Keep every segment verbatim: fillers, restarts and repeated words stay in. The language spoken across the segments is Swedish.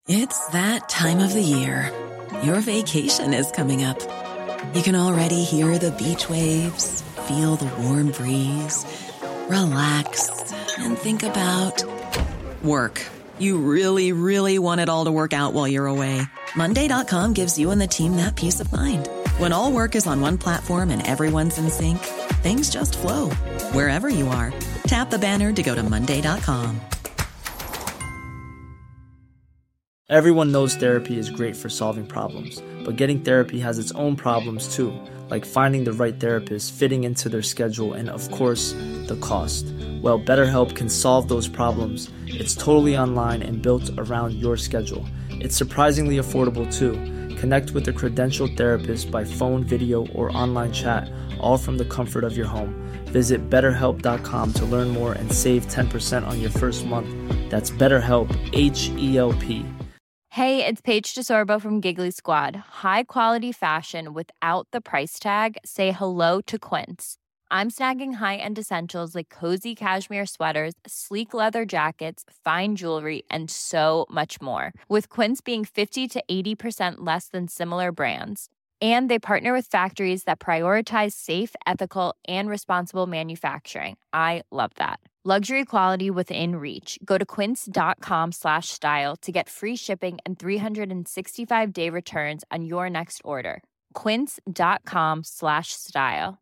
It's that time of the year. Your vacation is coming up. You can already hear the beach waves, feel the warm breeze, relax, and think about work. You really, really want it all to work out while you're away. Monday dot com gives you and the team that peace of mind. When all work is on one platform and everyone's in sync, things just flow. Wherever you are, tap the banner to go to monday dot com. Everyone knows therapy is great for solving problems, but getting therapy has its own problems too, like finding the right therapist, fitting into their schedule, and of course, the cost. Well, BetterHelp can solve those problems. It's totally online and built around your schedule. It's surprisingly affordable too. Connect with a credentialed therapist by phone, video, or online chat, all from the comfort of your home. Visit better help dot com to learn more and save ten percent on your first month. That's BetterHelp, H E L P. Hey, it's Paige DeSorbo from Giggly Squad. High quality fashion without the price tag. Say hello to Quince. I'm snagging high-end essentials like cozy cashmere sweaters, sleek leather jackets, fine jewelry, and so much more. With Quince being fifty to eighty percent less than similar brands. And they partner with factories that prioritize safe, ethical, and responsible manufacturing. I love that. Luxury quality within reach. Go to quince dot com slash style to get free shipping and three sixty-five day returns on your next order. quince dot com slash style.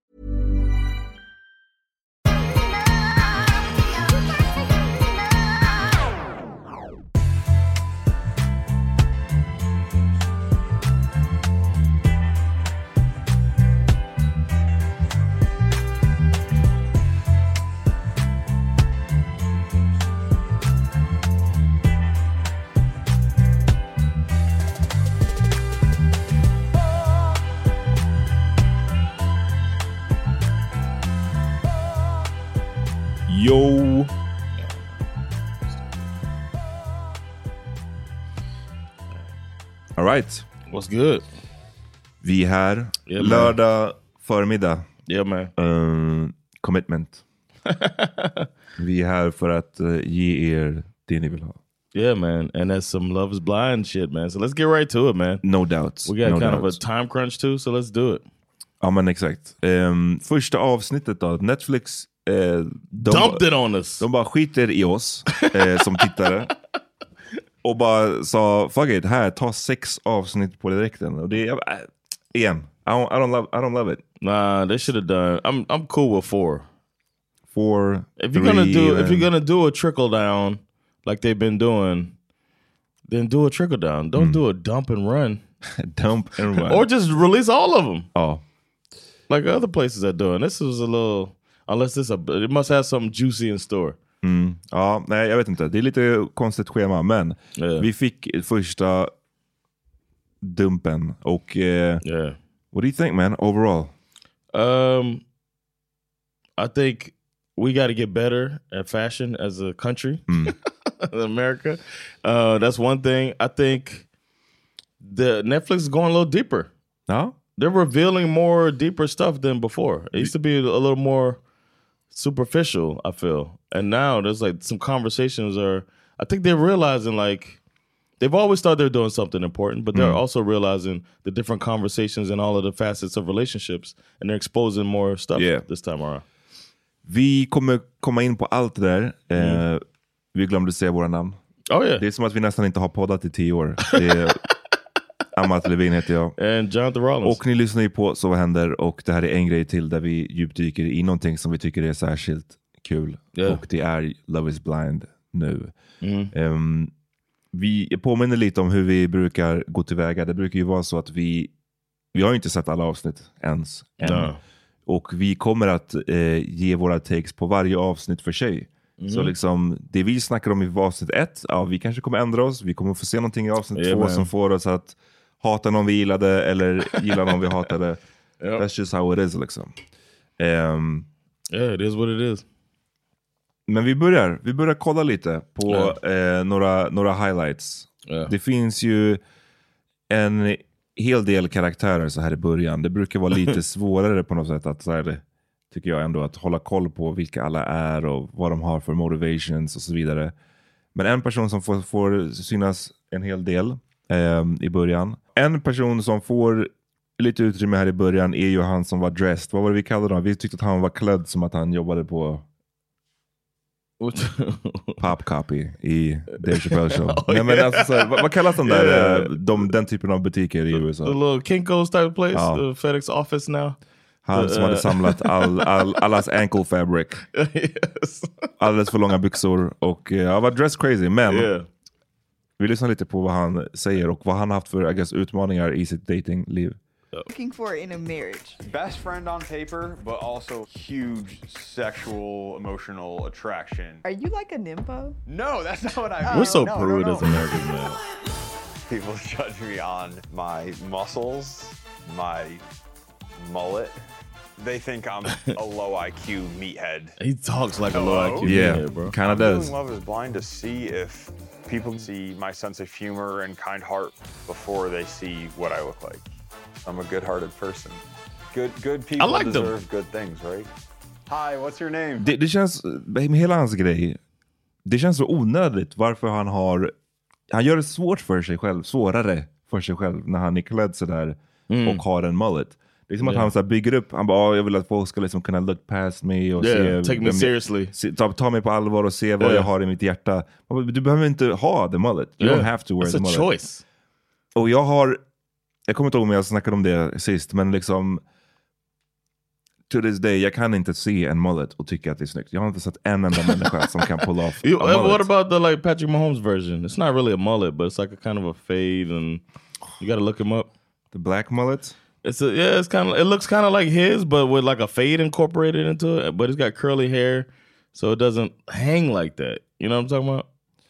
Yo! All right. What's good? Vi är här. Yeah, lördag förmiddag. Yeah, man. Uh, commitment. Vi är här för att uh, ge er det ni vill ha. Yeah, man. And that's some Love is Blind shit, man. So let's get right to it, man. No doubt. We got no kind doubt. of a time crunch too, so let's do it. Ja, men exakt. Um, första avsnittet då. Netflix uh, de, dumped it on us. De bara skiter i oss uh, som tittare. Och bara sa, fuck it, här, ta sex avsnitt på direkten. Och det är, uh, igen, I don't, I don't love, I don't love it. Nah, they should have done. I'm, I'm cool with four. Four. If you're three, gonna do, and... if you're gonna do a trickle down, like they've been doing, then do a trickle down. Don't mm. do a dump and run. Dump and run. Or just release all of them. Oh, like other places are doing. This was a little, unless this a, it must have something juicy in store. Mm. Ja, nej, jag vet inte. Det är lite konstigt schema, men yeah. vi fick första dumpen och uh, yeah. What do you think, man, overall? Um, I think we got to get better at fashion as a country, mm. America. Uh, that's one thing. I think the Netflix is going a little deeper. No? They're revealing more deeper stuff than before. It used to be a little more superficial, I feel. And now there's like some conversations are, I think they're realizing like, they've always thought they're doing something important, but they're mm. also realizing the different conversations and all of the facets of relationships, and they're exposing more stuff yeah. this time around. Vi kommer komma in på allt det där. Mm. Eh, vi glömde säga våra namn. Oh, yeah. Det är som att vi nästan inte har poddat i tio år. Det är Amat Levin heter jag. And Jonathan Rollins. Och ni lyssnar ju på Så vad händer, och det här är en grej till där vi djupdyker i någonting som vi tycker är särskilt kul. Yeah. Och det är Love is Blind nu. Mm. Um, vi påminner lite om hur vi brukar gå tillväga. Det brukar ju vara så att vi vi har ju inte sett alla avsnitt ens än. No. Och vi kommer att eh, ge våra takes på varje avsnitt för sig. Mm. Så liksom, det vi snackar om i avsnitt ett, ja, vi kanske kommer ändra oss. Vi kommer få se någonting i avsnitt yeah, två man. som får oss att hata någon vi gillade eller gilla någon vi hatade. Yep. That's just how it is liksom. Um, yeah, it is what it is. Men vi börjar, vi börjar kolla lite på yeah. eh, några, några highlights. Yeah. Det finns ju en hel del karaktärer så här i början. Det brukar vara lite svårare på något sätt att så här, tycker jag ändå, att hålla koll på vilka alla är och vad de har för motivations och så vidare. Men en person som får, får synas en hel del eh, i början. En person som får lite utrymme här i början är ju han som var dressed. Vad var det vi kallade honom? Vi tyckte att han var klädd som att han jobbade på Pop Copy i Dave Chappelle Show. oh, Nej, men alltså, så, vad, vad kallas de där, yeah. de, den typen av butiker i U S A? The little Kinko's type of place, ja. The FedEx office now. Han som uh, hade samlat all, all, allas ankle fabric. yes. Alldeles för långa byxor. Och uh, jag var dressed crazy. Men yeah. vi lyssnar lite på vad han säger och vad han haft för I guess, utmaningar i sitt datingliv. Looking for in a marriage. Best friend on paper, but also huge sexual, emotional attraction. Are you like a nympho? No, that's not what I mean. We're so no, prude no, no. as Americans, man. People judge me on my muscles, my mullet. They think I'm a low I Q meathead. He talks like Hello? a low I Q yeah, meathead, bro. Kind of does. Love is blind to see if people see my sense of humor and kind heart before they see what I look like. I'm a good-hearted person. Good, good people like deserve them. good things, right? Hi, what's your name? Det, det känns, med hela hans grej, det känns så onödigt varför han har, han gör det svårt för sig själv, svårare för sig själv när han är klädd sådär mm. och har en mullet. Det är som yeah. att han så här bygger upp, han bara, oh, jag vill att folk ska liksom kunna look past me och yeah, se, take me seriously. Se, ta, ta mig på allvar och se vad yeah. jag har i mitt hjärta. Du behöver inte ha the mullet. You yeah. don't have to wear It's the a mullet. Choice. Och jag har, jag kommer inte ihåg om jag snackade om det sist, men liksom to this day, jag kan inte se en mullet och tycka att det är snyggt. Jag har inte sett en enda människa som kan pull off you, a mullet. What about the like Patrick Mahomes version? It's not really a mullet, but it's like a kind of a fade, and you got to look him up. The black mullet? It's a yeah, it's kind of it looks kind of like his, but with like a fade incorporated into it. But he's got curly hair, so it doesn't hang like that. You know what I'm talking about?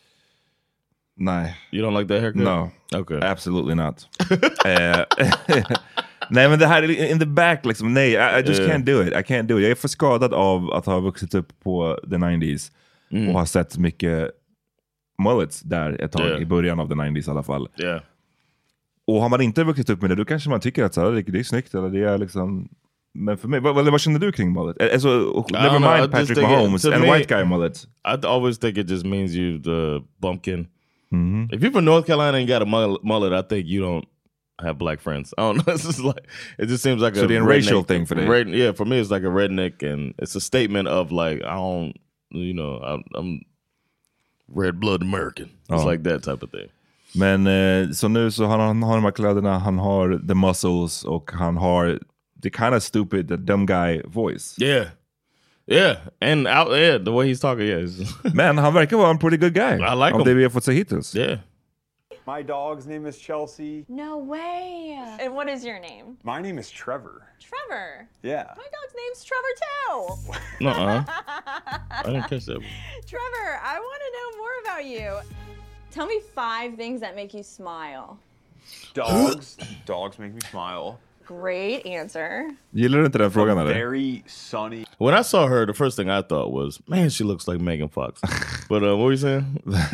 Nej. You don't like that haircut? No. Okay. Absolutely not. uh, nej, men det här in the back liksom, nej, I, I just yeah. can't do it. I can't do it. Jag är för skadad av att ha vuxit upp på the nineties mm. och ha sett mycket mullets där ett tag, yeah. i början av the nineties i alla fall. Yeah. Och har man inte vuxit upp med det, då kanske man tycker att så här, det, det är snyggt eller det är liksom. Men för mig, vad, vad känner du kring mullet? Alltså, never mind know, Patrick Mahomes and me, white guy mullet. I always think it just means you the bumpkin. Mm-hmm. If you're from North Carolina and got a mullet, I think you don't have black friends. I don't know. It's just like it just seems like so a the racial thing for that. Red, yeah, for me it's like a redneck, and it's a statement of like I don't, you know, I'm, I'm red blood American. It's oh. like that type of thing. Men eh, så nu så han, han har de här kläderna, han har the muscles och han har the kind of stupid, the dumb guy voice. Yeah. Yeah, and out yeah, the way he's talking, yeah. Men han verkar vara en pretty good guy. I like him. Av det vi har fått se hittills. Yeah. My dog's name is Chelsea. No way. And what is your name? My name is Trevor. Trevor? Yeah. My dog's name's Trevor too. Nuh-uh. I didn't catch that. Trevor, I want to know more about you. Tell me five things that make you smile. Dogs. Dogs make me smile. Great answer. Gillar du inte den frågan eller? Very sunny. When I saw her, the first thing I thought was, man, she looks like Megan Fox. But uh, what were you saying?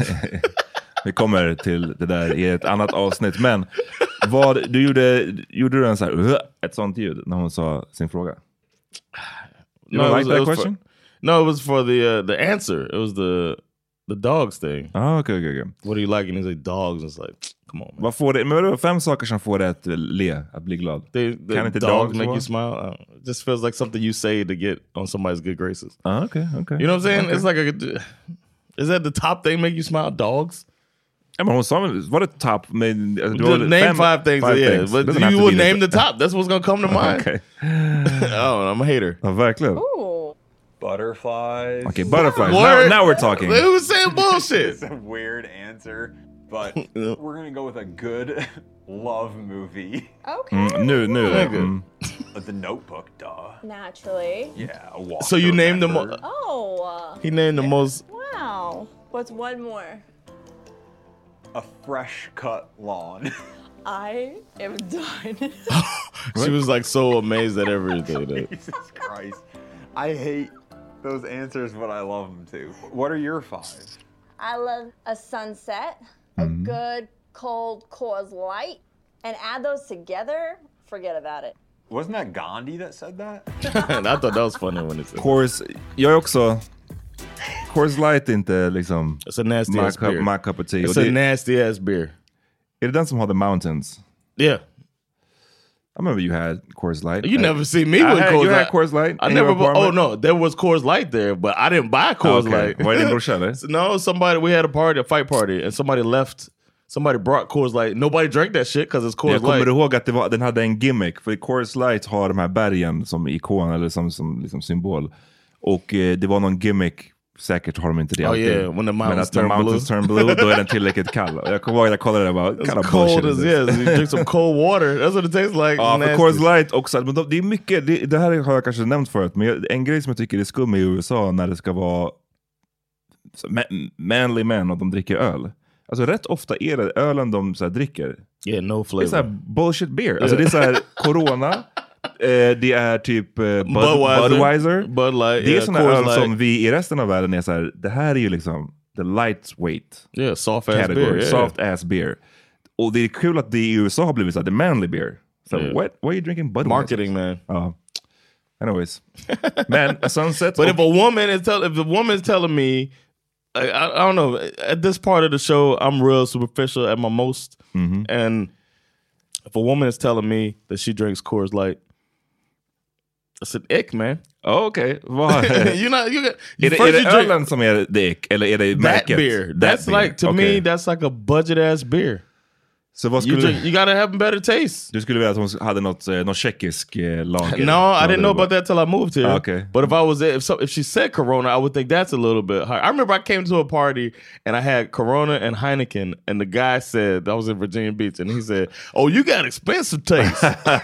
Vi kommer till det där i ett annat avsnitt. Men vad, du gjorde, gjorde du en så här, ett sånt ljud när hon sa sin fråga? You no, like was, that question? For, no, it was for the uh, the answer. It was the the dogs thing. Oh, okay, okay, okay. What do you like? And he's like, dogs. It's like, come on, man. Vad får det? Men det var fem saker som får det att le, att bli glad. They, they, Can it dogs, dogs make you smile? Uh, it just feels like something you say to get on somebody's good graces. Oh, okay, okay. You know what I'm saying? Okay. It's like a, is that the top thing make you smile? Dogs? Ja, men hon sa, var det top? Men, name fem, five things, five yeah. Things. But you would name the top. That's what's going to come to mind. Okay. Oh, I'm a hater. Ja, verkligen. Ooh. Butterflies. Okay, butterflies. Now, now we're talking. They was saying bullshit. It's a weird answer, but we're going to go with a good love movie. Okay. Mm, nu, nu. Mm. The Notebook, duh. Naturally. Yeah, a walk So you named them. Oh. Uh, he named the most. Wow. What's one more? A fresh cut lawn. I am done. She was like so amazed at everything. Jesus Christ. I hate those answers, but I love them too. What are your five? I love a sunset, a mm-hmm. good cold Coors Light, and add those together, forget about it. Wasn't that Gandhi that said that? I thought that was funny when it said Coors, jag är också Coors Light inte liksom it's a nasty my ass cup, beer. my cup of tea. It's och a det, nasty ass beer. Är det den som har The Mountains? Yeah. I remember you had Coors Light. You I, never see me I with had, Coors you Light. had Coors Light. I never. Oh no, there was Coors Light there, but I didn't buy Coors okay. Light. Var det din brorsa eller? No, somebody. We had a party, a fight party, and somebody left. Somebody brought Coors Light. Nobody drank that shit because it's Coors Jag Light. kommer ihåg att det var, den hade en gimmick. För Coors Light har de här bergen som ikon eller som, som liksom symbol. Och eh, det var någon gimmick. Säkert har de inte det Oh alltid. yeah, when the mountains, Men att turn, mountains blue. turn blue, då är den tillräckligt kall. Jag kommer ihåg att jag kollade det och bara, kind of cold bullshit as is yes. this? You drink some cold water. That's what it tastes like. Ja, för Nasty. Coors Light också. Men de, det är mycket, det, det här har jag kanske nämnt förut, men jag, en grej som jag tycker är skum i U S A när det ska vara så, man, manly men och de dricker öl. Alltså rätt ofta är det ölen de så här, dricker. Yeah, no flavor. Det är så här bullshit beer. Alltså det är så här Corona, eh, det är typ eh, Bud, Budweiser. Budweiser. Bud Light. Det är Yeah, såna Coors öl Light. som vi i resten av världen är så här, det här är ju liksom the lightweight Yeah, soft ass category. beer. Yeah. Soft ass beer. Och det är kul att det i U S A har blivit så här, the manly beer. So Yeah. what? Why are you drinking Budweiser? Marketing, man. Ja. Anyways. Men a sunset. But if a woman is tell, if the woman is telling me, I, I, I don't know, at this part of the show, I'm real superficial at my most. Mm-hmm. And if a woman is telling me that she drinks Coors Light, it's an ick, man. Oh, okay. Vad You're not. You got. är det, first är det you drink ölen som är det ick, eller är det that märket? beer. That That's beer. like to Okay. me. That's like a budget ass beer. Så vad You skulle drink, you gotta have a better taste. du skulle vilja att hon hade något, eh, något tjeckisk eh, lager? No, I didn't know about that till I moved here. Okay. But if I was there, if so, if she said Corona, I would think that's a little bit high. I remember I came to a party and I had Corona and Heineken, and the guy said, I was in Virginia Beach, and he said, "Oh, you got expensive taste."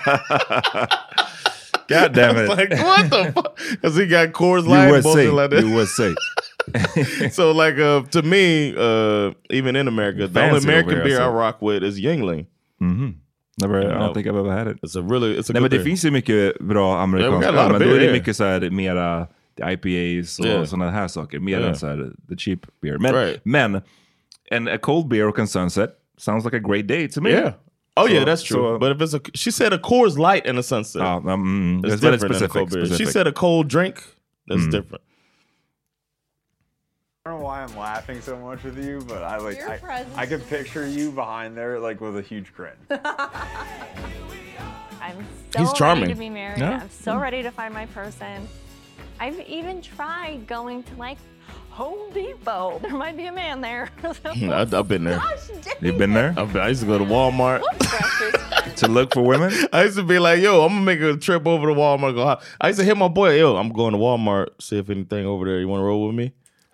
God damn it. Like, what the fuck? Because he got Coors Light U and S A. bullshit like that. U S A. So like uh, to me, uh, even in America, the only Fancy American over here, beer so. I rock with is Yuengling. Mm-hmm. Never, I No. don't think I've ever had it. It's a really, it's a Nej, men good det beer. finns ju mycket bra amerikanska Yeah, we got a lot öl, of men då beer, är det yeah. mycket så här, mera I P As och Yeah. sådana här saker. Mer Yeah. än så här, the cheap beer. Men, Right. men en a cold beer och en sunset sounds like a great day to me. Yeah. Oh So- yeah, that's true. so- but if it's a, she said a Coors Light and a sunset. Ja, mm, It's it's väldigt different than a specific. cold beer. She specific. said a cold drink. That's different. I don't know why I'm laughing so much with you, but I like Your I, presence I could is- picture you behind there like with a huge grin. I'm so He's charming. ready to be married. Yeah. I'm so ready to find my person. I've even tried going to like Home Depot. There might be a man there. I, I've been there. You've been there I've been, I used to go to Walmart. to look for women? I used to be like, yo, I'm gonna make a trip over to Walmart. Go. "Hi." I used to hit my boy, yo, I'm going to Walmart. See if anything over there. You want to roll with me?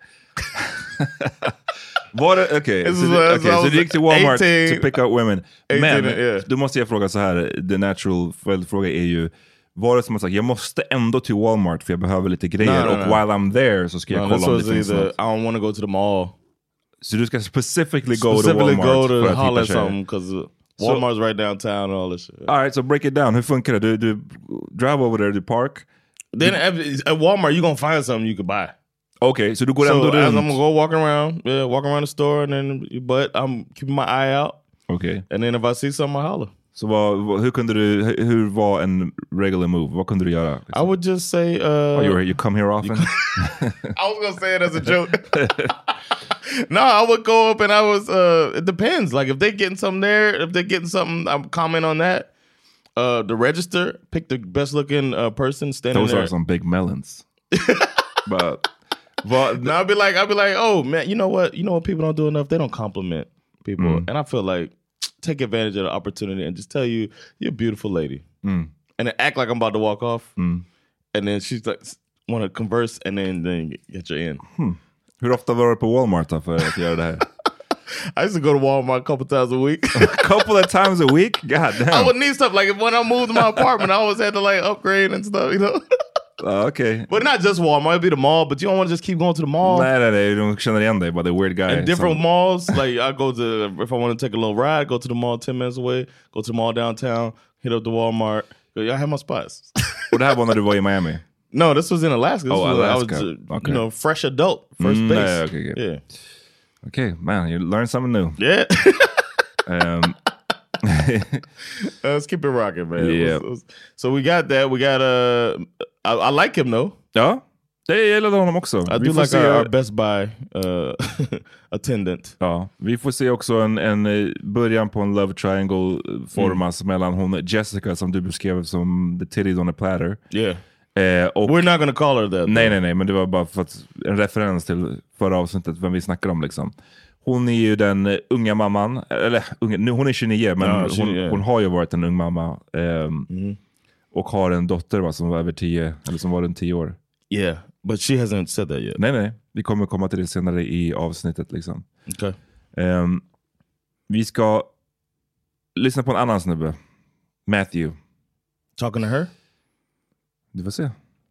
Var det, okej, This så, is du- when I okej, så was du gick till Walmart eighteen. to pick up women. Men, eighteen, yeah. då måste jag fråga så här, the natural följdfråga är ju, var det som att sagt, jag måste ändå till Walmart för jag behöver lite grejer No, no, och no. while I'm there så ska jag No, kolla this om was det finns either något. I don't want to go to the mall. Så du ska specifically go Specifically to Walmart go to för att holler hitta at tjejer? something because Walmart's right downtown and all this shit. Alright, so break it down. Hur funkar det? Du, du drive over there, du park. Then at, at Walmart, you're gonna find something you could buy. Okej, så du går So ändå as I'm runt. gonna go walking around, yeah, walking around the store, and then but I'm keeping my eye out. Okej. And then if I see something, I holler. Så vad, vad, hur kunde du, hur, hur var en regular move? Vad kunde du göra? I would just say, uh, Oh, you, you come here often? I was gonna say it as a joke. No, I would go up and I was. Uh, it depends. Like if they're getting something there, if they're getting something, I'm comment on that. Uh, the register, pick the best looking uh, person standing Those there. are some big melons. But vad, No, I'll be like, I'll be like, oh man, you know what? You know what people don't do enough? They don't compliment people, Mm. and I feel like take advantage of the opportunity and just tell you you're a beautiful lady, Mm. and then act like I'm about to walk off, Mm. and then she's like, want to converse, and then then get you in. hur ofta var du på Walmart då för att göra det här? I used to go to Walmart a couple times a week. A couple of times a week? God I damn. would need stuff like when I moved to my apartment, I always had to like upgrade and stuff, you know. Uh, okay. But not just Walmart, it'd be the mall. But you don't want to just keep going to the mall. Nej, nej, nej. De känner igen dig, bara the weird guy. And different som- malls, like I go to if I want to take a little ride, go to the mall ten minutes away, go to the mall downtown, hit up the Walmart. I have my spots. Och det här var när du var i Miami? No, this was in Alaska. This Oh, was, Alaska. I was, uh, Okay. you know, fresh adult, first Mm, base. yeah, okay, okay. Yeah, Okay, man, you learn something new. yeah. Um, Let's keep it rocking, man. Yeah. Let's- let's- So we got that. We got uh, I, I like him though. ja, Det gällde honom också. I do like our, our Best Buy uh, attendant. Ja, vi får se också en, en början på en love triangle formas mm. mellan hon Jessica som du beskrev som the titties on a platter. Yeah. Eh, och, We're not gonna call her that. Nej, nej, nej, men det var bara för att en referens till förra avsnittet vem vi snackar om liksom. Hon är ju den unga mamman, eller unga, nu hon är tjugonio men ja, hon, hon har ju varit en ung mamma eh, mm. och har en dotter va, som var över tio, eller som var runt tio år. Yeah, but she hasn't said that yet. Nej, nej, vi kommer komma till det senare i avsnittet liksom. Okay. Eh, vi ska lyssna på en annan snubbe, Matthew. Talking to her? Du får se.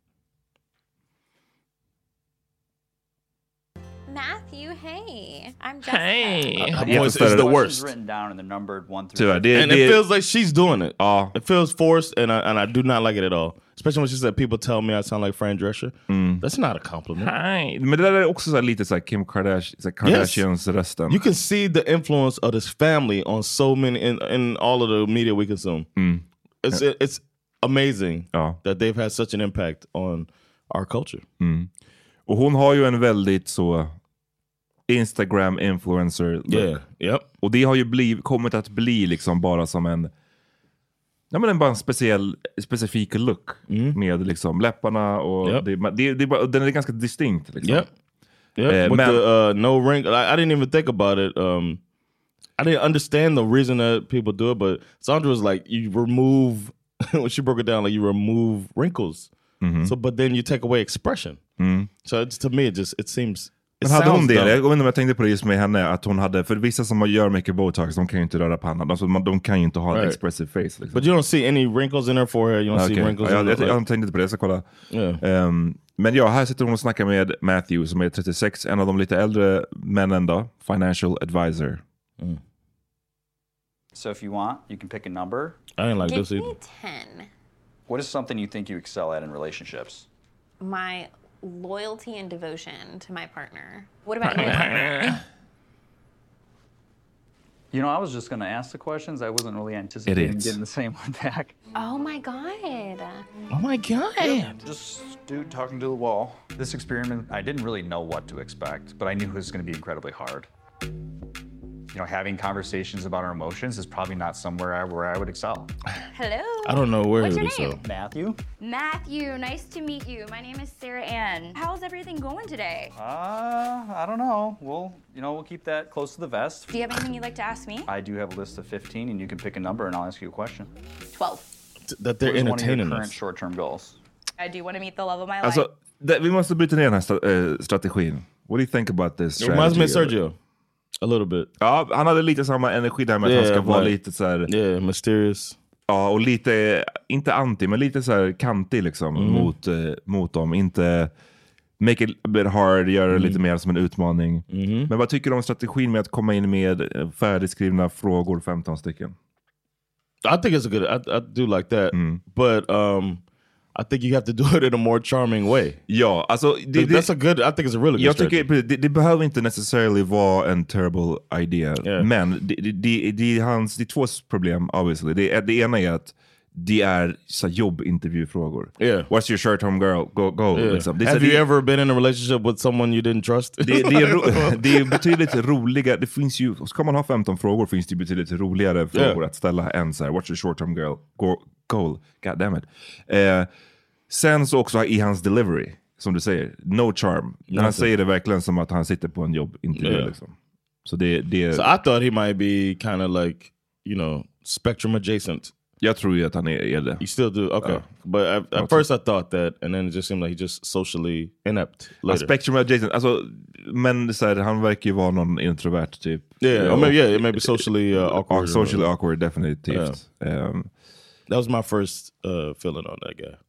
Matthew, hey. I'm Jessica. Hey. Her voice is the worst. Written down in the numbered one through Tyvärr, det, and det, it feels like she's doing it. Uh, it feels forced, and I, and I do not like it at all. Especially when she said people tell me I sound like Fran Drescher. Mm. That's not a compliment. Nej, men det där är också så lite så här Kim Kardashian, så här Kardashians yes. rösten. You can see the influence of this family on so many in, in all of the media we consume. Mm. It's it, it's amazing ja. that they've had such an impact on our culture. Mm. Och hon har ju en väldigt så Instagram influencer look. Yeah. Yep. Och det har ju bliv, kommit att bli liksom bara som en ja men en bara en speciell specifik look mm. med liksom läpparna och yep. det, det, det, det, den är ganska distinkt liksom. Yep. Yep. Uh, With men, the uh, no ring, I, I didn't even think about it. Um, I didn't understand the reason that people do it, but Sandra was like, you remove when she broke it down, like you remove wrinkles. Mm-hmm. So, but then you take away expression. Mm. So it's, to me, it just it seems. It men hade hon det? Jag vet inte om jag tänkte på det just med henne, att hon hade, för vissa som gör mycket botox, de kan ju inte röra pannan. Alltså, de kan ju inte ha right. en expressive face. Liksom. But you don't see any wrinkles in her forehead? You don't okay. see wrinkles ja, in jag, her? Jag, jag tänkte inte på det, jag ska kolla. Yeah. Um, men ja, här sitter hon och snackar med Matthew som är trettiosex, en av de lite äldre männen då, financial advisor. Mm. So if you want, you can pick a number. I ain't like Give this either. me ten. What is something you think you excel at in relationships? My loyalty and devotion to my partner. What about you? You know, I was just going to ask the questions. I wasn't really anticipating getting the same one back. Oh my God. Oh my God. Yeah, just dude talking to the wall. This experiment, I didn't really know what to expect, but I knew it was going to be incredibly hard. You know, having conversations about our emotions is probably not somewhere I, where I would excel. Hello. I don't know where What's it your is. name? So. Matthew. Matthew, nice to meet you. My name is Sarah Ann. How's everything going today? Uh, I don't know. We'll, you know, we'll keep that close to the vest. Do you have anything you'd like to ask me? I do have a list of fifteen, and you can pick a number, and I'll ask you a question. twelve. That they're entertaining one of your current short-term goals. I do want to meet the love of my life. Alltså, det, vi måste bryta ner den här sta- äh, strategin. What do you think about this strategy? It reminds me of Sergio. A little bit. Ja, han hade lite samma energi där med yeah, att han ska but, vara lite så här. Yeah, mysterious. Ja, och lite, inte anti, men lite så här kantig liksom mm. mot, eh, mot dem. Inte make it a bit hard, göra det mm. lite mer som en utmaning. Mm. Men vad tycker du om strategin med att komma in med färdigskrivna frågor, femton stycken? I think it's a good, I, I do like that. Mm. But um, I think you have to do it in a more charming way. Ja, alltså det, det, that's a good. I think it's a really good. Jag tycker det, det behöver inte necessarily vara en terrible idea, yeah. men det, det, det, det är hans, det är två problem obviously. Det, det ena är att det är så jobbintervjufrågor. Yeah. What's your short term girl go go? Yeah. Liksom. Det, Have det, you ever been in a relationship with someone you didn't trust? Det, det, är, ro, det är betydligt roligare. Det finns ju, ska man ha femton frågor finns det betydligt roligare frågor yeah. att ställa än så här, what's your short term girl go, goal? God damn it. Eh, sen så också i hans delivery, som du säger, no charm. När han säger det verkligen som att han sitter på en jobbintervju yeah. liksom. Så det, det So I thought he might be kind of like, you know, spectrum adjacent. Jag tror ju att han är, är det. You still do? Okay. Uh, But at, at first I thought that, and then it just seemed like he just socially inept later. A spectrum adjacent. Alltså, men så här, han verkar ju vara någon introvert typ. Yeah, yeah, or maybe, yeah, it may be socially uh, awkward. Socially or, awkward, definitivt. Yeah. Um, that was my first uh, feeling on that guy.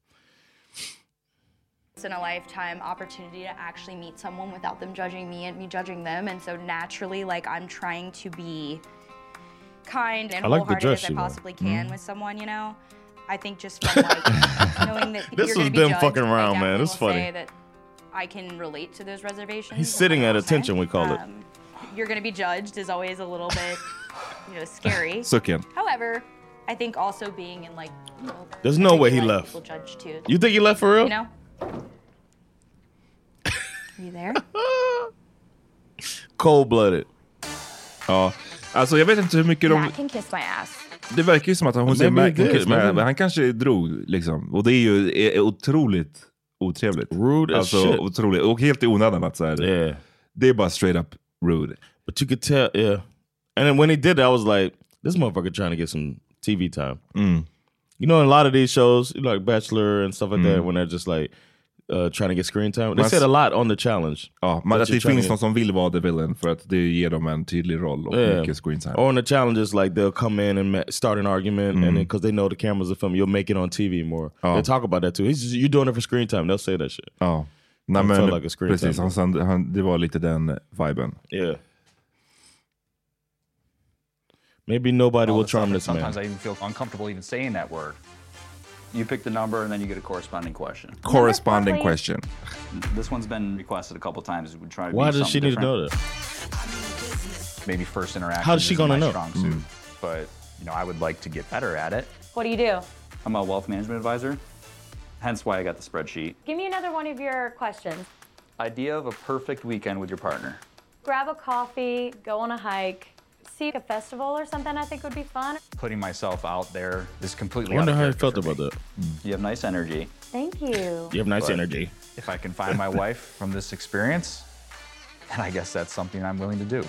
In a lifetime opportunity to actually meet someone without them judging me and me judging them, and so naturally, like, I'm trying to be kind and I like wholehearted as I possibly can mm. with someone, you know. I think just from like knowing that this you're was gonna be them judged, fucking around, man. It's funny. Say that I can relate to those reservations. He's sitting at attention, we call um, it. You're gonna be judged is always a little bit, you know, scary. Sucken. However, I think also being in like, you know, there's no way he left. Judge too. You think he left for real? You know. Are you there? Cold-blooded. Ja, alltså jag vet inte hur mycket de... Matt can kiss my ass. Det verkar ju som att hon säger Maybe Mac and he kiss did, my maybe. ass, men han kanske drog liksom. Och det är ju är, är otroligt otrevligt. Rude as alltså, shit. Otroligt. Och helt i onödan att säga det. Yeah. Det är bara straight up rude. But you could tell, yeah. And then when he did that, I was like, this motherfucker trying to get some T V time. Mm. You know, in a lot of these shows, like Bachelor and stuff like Mm. that, when they're just like uh, trying to get screen time. They Man- said a lot on the challenge. Ja, men That att you're det trying finns to- någon som vill vara the villain för att det ger dem en tydlig roll och Yeah. mycket screen time. Or on the challenges, like they'll come in and ma- start an argument, Mm. and then because they know the cameras are filming, you'll make it on T V more. Ja. They talk about that too. He's just, you're doing it for screen time. They'll say that shit. Ja. Nej, I men, felt like a screen precis, time. han, han, han, det var lite den viben. Yeah. Maybe nobody All will this stuff, charm and this man. sometimes I even feel uncomfortable even saying that word. You pick the number and then you get a corresponding question. Corresponding question. This one's been requested a couple times. We try to Why be does she something need to know different. that? Maybe first interaction. How is she isn't gonna my know? strong suit, but you know, I would like to get better at it. What do you do? I'm a wealth management advisor, hence why I got the spreadsheet. Give me another one of your questions. Idea of a perfect weekend with your partner. Grab a coffee, go on a hike, see a festival or something I think would be fun. Putting myself out there is completely. I wonder out of how he character felt for about me. that. You have nice energy. Thank you. You have nice But energy. If I can find my wife from this experience, then I guess that's something I'm willing to do.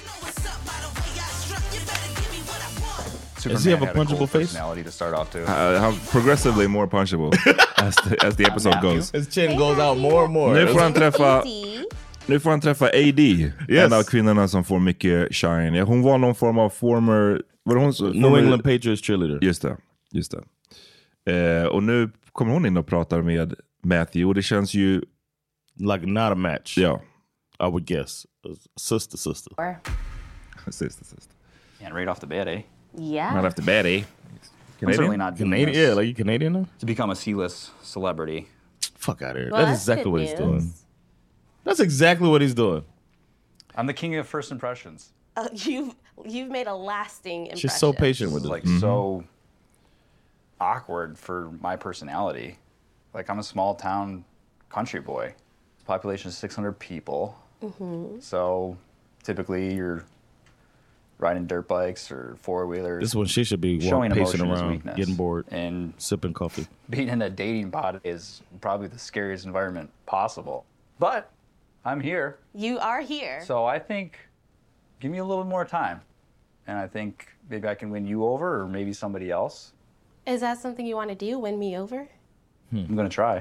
Does he have a Superman had punchable cool face? personality to start off too. Uh, han progressively more punchable as the, as the episode Matthew. goes. His chin goes out more and more. Nu får han träffa, nu får han träffa A D, Yes. en av kvinnorna som får mycket shine. Ja, hon var någon form av former... Var det hon, som- New former, England Patriots cheerleader. Just det, just det. Eh, och nu kommer hon in och pratar med Matthew och det känns ju... Like not a match. Ja. I would guess. Sister, sister. Sister, sister. And right off the bat, eh? Yeah. Right after Betty. I'm certainly not doing Canadian? this Yeah, like you Canadian now? to become a C-list celebrity. Fuck out of here. Well, that's that's exactly good what he's news. doing. That's exactly what he's doing. I'm the king of first impressions. Uh, you've you've made a lasting impression. She's so patient This with is it. like so awkward for my personality. Like I'm a small town country boy. Population is six hundred people. Mm-hmm. So typically you're riding dirt bikes or four wheelers. This is when she should be walk, showing pacing emotion is around, weakness. getting bored, and sipping coffee. being in a dating pod is probably the scariest environment possible. But I'm here. You are here. So I think, give me a little more time. And I think maybe I can win you over or maybe somebody else. Is that something you want to do? Win me over? I'm going to try.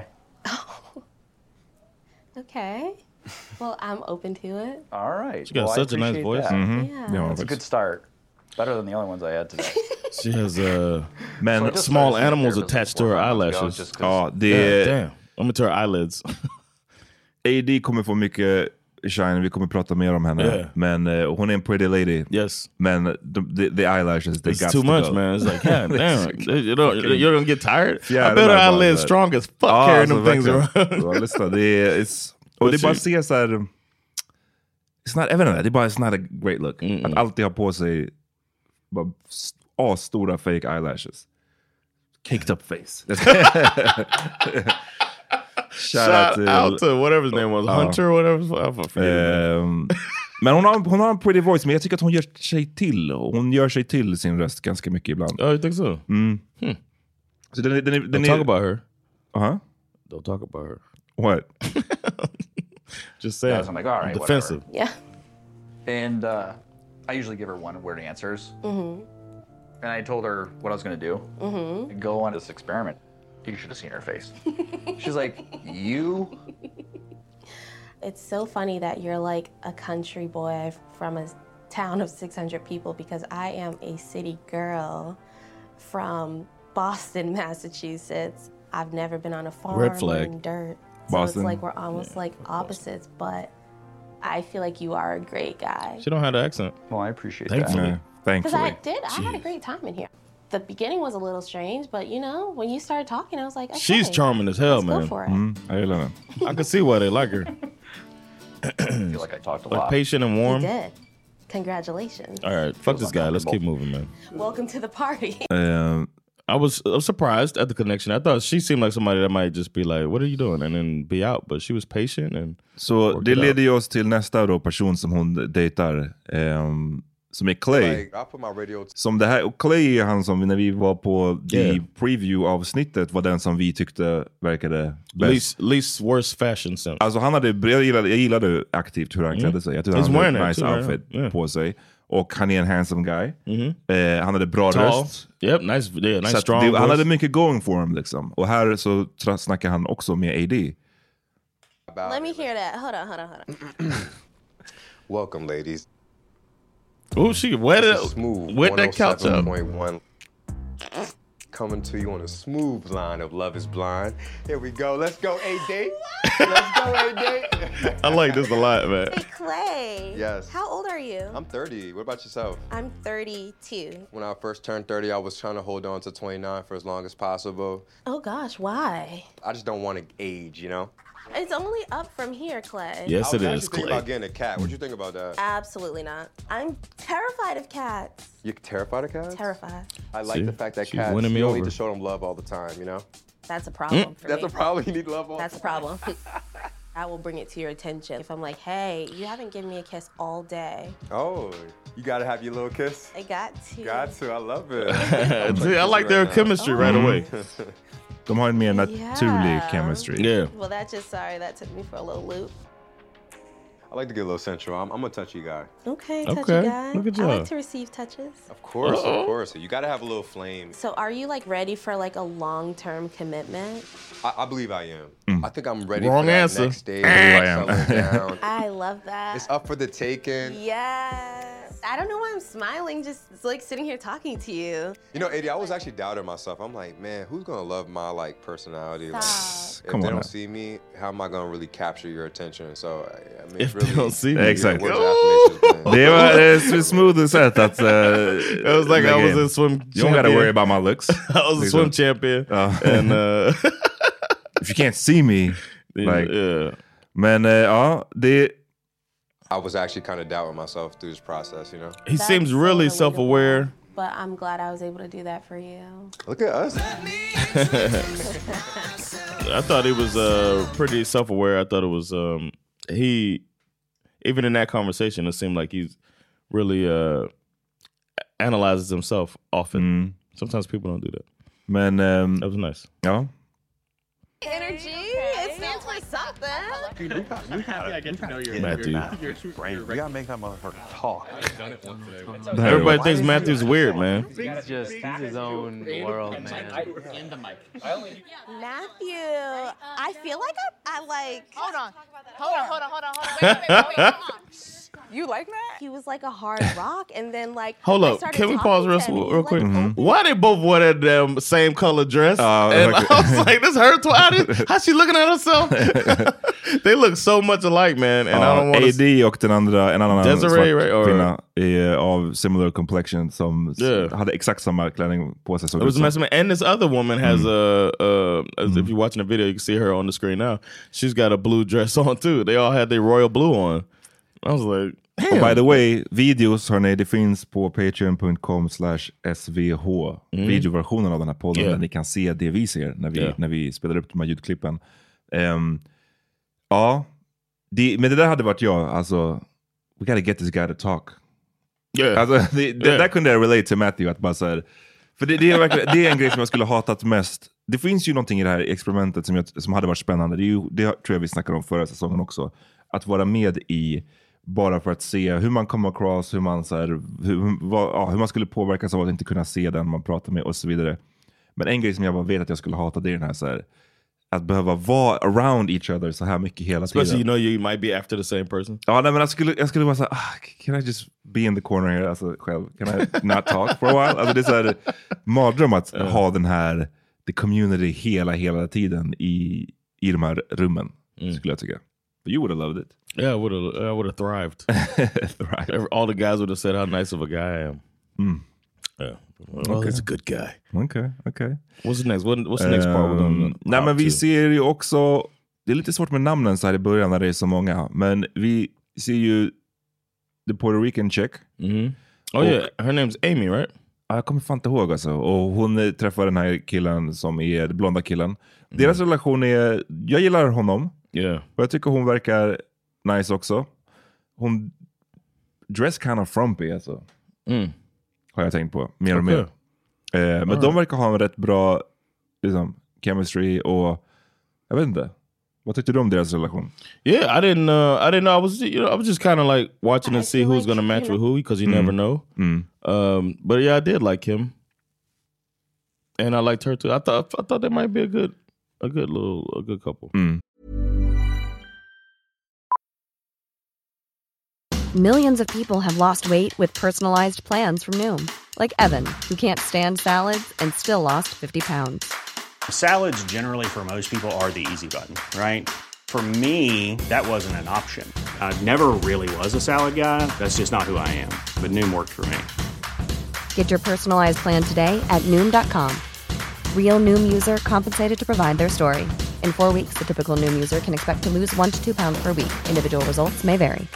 Okay. Well, I'm open to it. All right. She got Well, I such a nice appreciate voice. that. Mhm. Yeah. Ja, That's a good start. Better than the other ones I had today. She has uh, Men, So I just small started seeing a animals therapist attached to her four months ago eyelashes. just 'cause- ja, det Yeah, är... damn. I'm into her eyelids. A D kommer få mycket shine, vi kommer prata mer om henne. Yeah. Men uh, hon är en pretty lady. Yes. Men the, the, the eyelashes, they It's got too to much, go. man. It's like, God damn. You don't, Fucking- you're gonna get tired? Yeah, I bet her det där bara- eyelids strong as fuck Ja, carrying alltså, them things verkligen. around. Ja, lyssna, det är... It's, och det är bara att se såhär... It's not evident, det är bara it's not a great look. Mm-mm. Att alltid ha på sig bara s- asstora fake eyelashes. Caked up face. Shout till- out to whatever his name was, Ja. Hunter or whatever. I forget. Ehm, men hon har, hon har en pretty voice, men jag tycker att hon gör sig till. Hon gör sig till sin röst ganska mycket ibland. Oh, you think so? Mm. Hmm. Så den, är- den, är- den Don't är... talk about her. Uh-huh. Don't talk about her. What? Just saying. Guys, I'm like, all right, defensive. Yeah. And uh, I usually give her one word answers. Mm-hmm. And I told her what I was going to do. Mm-hmm. Go on this experiment. You should have seen her face. She's like, you? It's so funny that you're like a country boy from a town of six hundred people because I am a city girl from Boston, Massachusetts. I've never been on a farm Red flag. in dirt. So Boston. it's like we're almost like opposites, but I feel like you are a great guy. She don't have the accent. Well, I appreciate Thankfully. Yeah, Because I thankfully. did. I had a great time in here. The beginning was a little strange, but you know, when you started talking, I was like, okay, She's charming as hell, let's go man. for it. Mm, jag gillar den. I can see why they like her. that. I feel like I talked a Like lot. patient and You warm. did. Congratulations. All right, fuck this guy. Let's keep moving, man. Welcome to the party. Ehm, I was, I was surprised at the connection. I thought she seemed like somebody that might just be like, what are you doing? And then be out. But she was patient and Så det leder ju oss till nästa då person som hon dejtar. Um, som är Clay. Like, I put my radio som det här, och Clay är han som när vi var på the Yeah. preview-avsnittet var den som vi tyckte verkade bäst. least, least worst fashion sense. Alltså han hade, jag gillade, jag gillade aktivt hur han Mm. klädde sig. Jag tyckte He's han hade wearing en it nice too, outfit yeah. Yeah. på sig. Och han är en handsome guy. Mm-hmm. Eh, han hade bra Tall. röst. Yep, nice, yeah, nice Så att strong det, han voice. hade mycket going for him liksom. Och här så tra- snackar han också med A D. Let me hear that. Hold on, hold on, hold on. Welcome, ladies. Oh, she wet This it, is smooth. wet that couch up. one oh seven point one. Coming to you on a smooth line of Love is Blind. Here we go. Let's go, A D. Let's go, A D. I like this a lot, man. Hey, Clay. Yes. How old are you? I'm thirty. What about yourself? I'm thirty-two. When I first turned thirty, I was trying to hold on to twenty-nine for as long as possible. Oh gosh, why? I just don't want to age, you know? It's only up from here, Clay. Yes, I it was is, actually thinking Clay. about getting a cat. What you think about that? Absolutely not. I'm terrified of cats. You terrified of cats? Terrified. I like See? the fact that She's cats, you winning me don't over. need to show them love all the time, you know? That's a problem for That's me. a problem. You need love all That's a problem. I will bring it to your attention. If I'm like, hey, you haven't given me a kiss all day. Oh, you gotta have your little kiss? I got to. Got to. I love it. See, I like their chemistry right away. De har en mer naturlig Yeah. chemistry. Yeah. Well, that just, sorry, that took me for a little loop. I like to get a little sensual. I'm, I'm a touchy guy. Okay, touchy Okay, guy. look at I you. like to receive touches. Of course, Uh-oh. of course. You gotta have a little flame. So are you like ready for like a long-term commitment? I, I believe I am. I think I'm ready Wrong for that answer. next stage. I believe I am. settling down. I love that. It's up for the taking. Yes. I don't know why I'm smiling, just it's like sitting here talking to you. You know, Eddie, I was actually doubting myself. I'm like, man, who's gonna love my like personality? Like, Stop. if Come they on don't now. see me, how am I gonna really capture your attention? So, I, I mean, If it's really, they don't see me. Exakt. Words of affirmation, man. Det var ett smooth sätt att... Uh, It was like I was a swim You don't gotta champion. worry about my looks. I was a swim champion. Ja. And uh, If you can't see me. Like, yeah. Men uh, ja, det... I was actually kind of doubting myself through this process, you know? He That's seems so really relatable. self-aware. But I'm glad I was able to do that for you. Look at us. I thought he was uh, pretty self-aware. I thought it was um, he, even in that conversation, it seemed like he's really uh, analyzes himself often. Mm. Sometimes people don't do that. Men... Um, That was nice. ja. Energy, it stands for something. We got, we have, yeah, get to know your, Matthew. your, your, brain. You gotta make that motherfucker talk. Everybody thinks Matthew's weird, man. He's just, he's his own world, man. In the mic. Matthew, I feel like I, I like. Hold on. Hold on, hold on, hold on, hold on. Wait, wait, wait, wait. You like Matt? He was like a hard rock, and then like. Hold I up, started can we talking pause to real, him, and he real was, quick? like, Mhm. open. Why they both wore that damn same color dress? Oh, and okay. I was like, this her tw- how did- How's she looking at herself? They look so much alike, man. And I don't Ja, want A to. D och den andra, en annan Desiree, svart right, or- kvinna i, av similar complexion som s- Yeah. hade exakt samma klänning på sig. såg It ut was som. messing with, and this other woman has Mm. a, uh, as if you're watching the video, you can see her on the screen now. She's got a blue dress on too. They all had their royal blue on. I was like, Och damn. by the way, videos hörni, det finns på patreon dot com slash s v h. Mm. Videoversionen av den här podden Yeah. där ni kan se det vi ser när vi, Yeah. när vi spelar upp de här ljudklippen. Ehm, ja, det, men det där hade varit jag, alltså, we gotta get this guy to talk. Yeah. Alltså, det, det, Yeah. där kunde jag relate till Matthew, att bara så här, för det, det, är verkligen, det är en grej som jag skulle hatat mest. Det finns ju någonting i det här experimentet som, jag, som hade varit spännande. Det, är ju, det tror jag vi snackade om förra säsongen också. Att vara med i, bara för att se hur man kommer across, hur man, så här, hur, vad, ja, hur man skulle påverkas av att inte kunna se den man pratar med och så vidare. Men en grej som jag bara vet att jag skulle hata, det är den här, så här att behöva vara around each other så här mycket hela Especially tiden. you know you might be after the same person. Ja, nej, men jag skulle, jag skulle vara såhär, ah, can I just be in the corner here, alltså själv? Can I not talk for a while? Alltså det är såhär mardröm att Yeah. ha den här, the community hela, hela tiden i, i de här rummen, Mm. skulle jag tycka. But you would have loved it. Yeah, I would have. I would have thrived. Thrived. Every- All the guys would have said how nice of a guy I am. Mm. Yeah. Well, Okay. he's a good guy. Okej, okej. What's the next? What, what's the next part we're gonna Ehm, nej, men hop vi to? ser ju också, det är lite svårt med namnen så här i början när det är så många, men vi ser ju the Puerto Rican chick. Mm-hmm. Oh Och- yeah, her name's Amy, right? jag kommer fan inte ihåg alltså. Och hon träffar den här killen som är den blonda killen. Mm. Deras relation är, jag gillar honom. Yeah. Och jag tycker hon verkar nice också. Hon dress kind of frumpy alltså. Mm. Har jag tänkt på, mer och Okay. mer. Eh, men All de right. verkar ha en rätt bra liksom, chemistry och jag vet inte. Vad tyckte du om deras relation? Yeah, I didn't. Uh, I didn't know. I was, you know, I was just kind of like watching to see who's like, going to match you with who because you Mm. never know. Mm. Um, but yeah, I did like him, and I liked her too. I thought I thought that might be a good, a good little, a good couple. Mm. Millions of people have lost weight with personalized plans from Noom. Like Evan, who can't stand salads and still lost fifty pounds. Salads generally for most people are the easy button, right? For me, that wasn't an option. I never really was a salad guy. That's just not who I am. But Noom worked for me. Get your personalized plan today at Noom dot com. Real Noom user compensated to provide their story. In four weeks, the typical Noom user can expect to lose one to two pounds per week. Individual results may vary.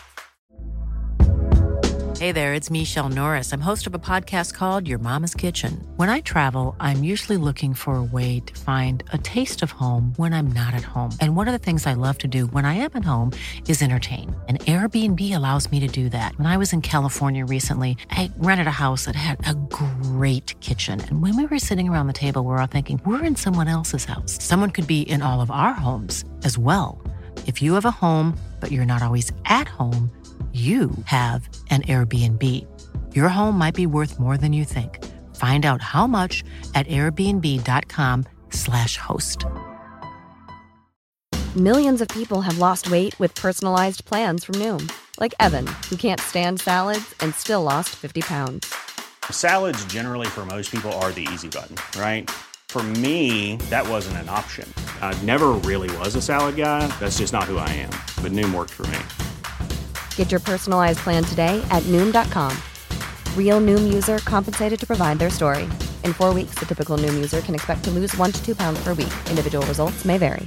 Hey there, it's Michelle Norris. I'm host of a podcast called Your Mama's Kitchen. When I travel, I'm usually looking for a way to find a taste of home when I'm not at home. And one of the things I love to do when I am at home is entertain. And Airbnb allows me to do that. When I was in California recently, I rented a house that had a great kitchen. And when we were sitting around the table, we were all thinking, we're in someone else's house. Someone could be in all of our homes as well. If you have a home, but you're not always at home, you have an Airbnb. Your home might be worth more than you think. Find out how much at airbnb dot com slash host. Millions of people have lost weight with personalized plans from Noom. Like Evan, who can't stand salads and still lost fifty pounds. Salads generally for most people are the easy button, right? For me, that wasn't an option. I never really was a salad guy. That's just not who I am. But Noom worked for me. Get your personalized plan today at Noom dot com. Real Noom user compensated to provide their story. In four weeks, the typical Noom user can expect to lose one to two pounds per week. Individual results may vary.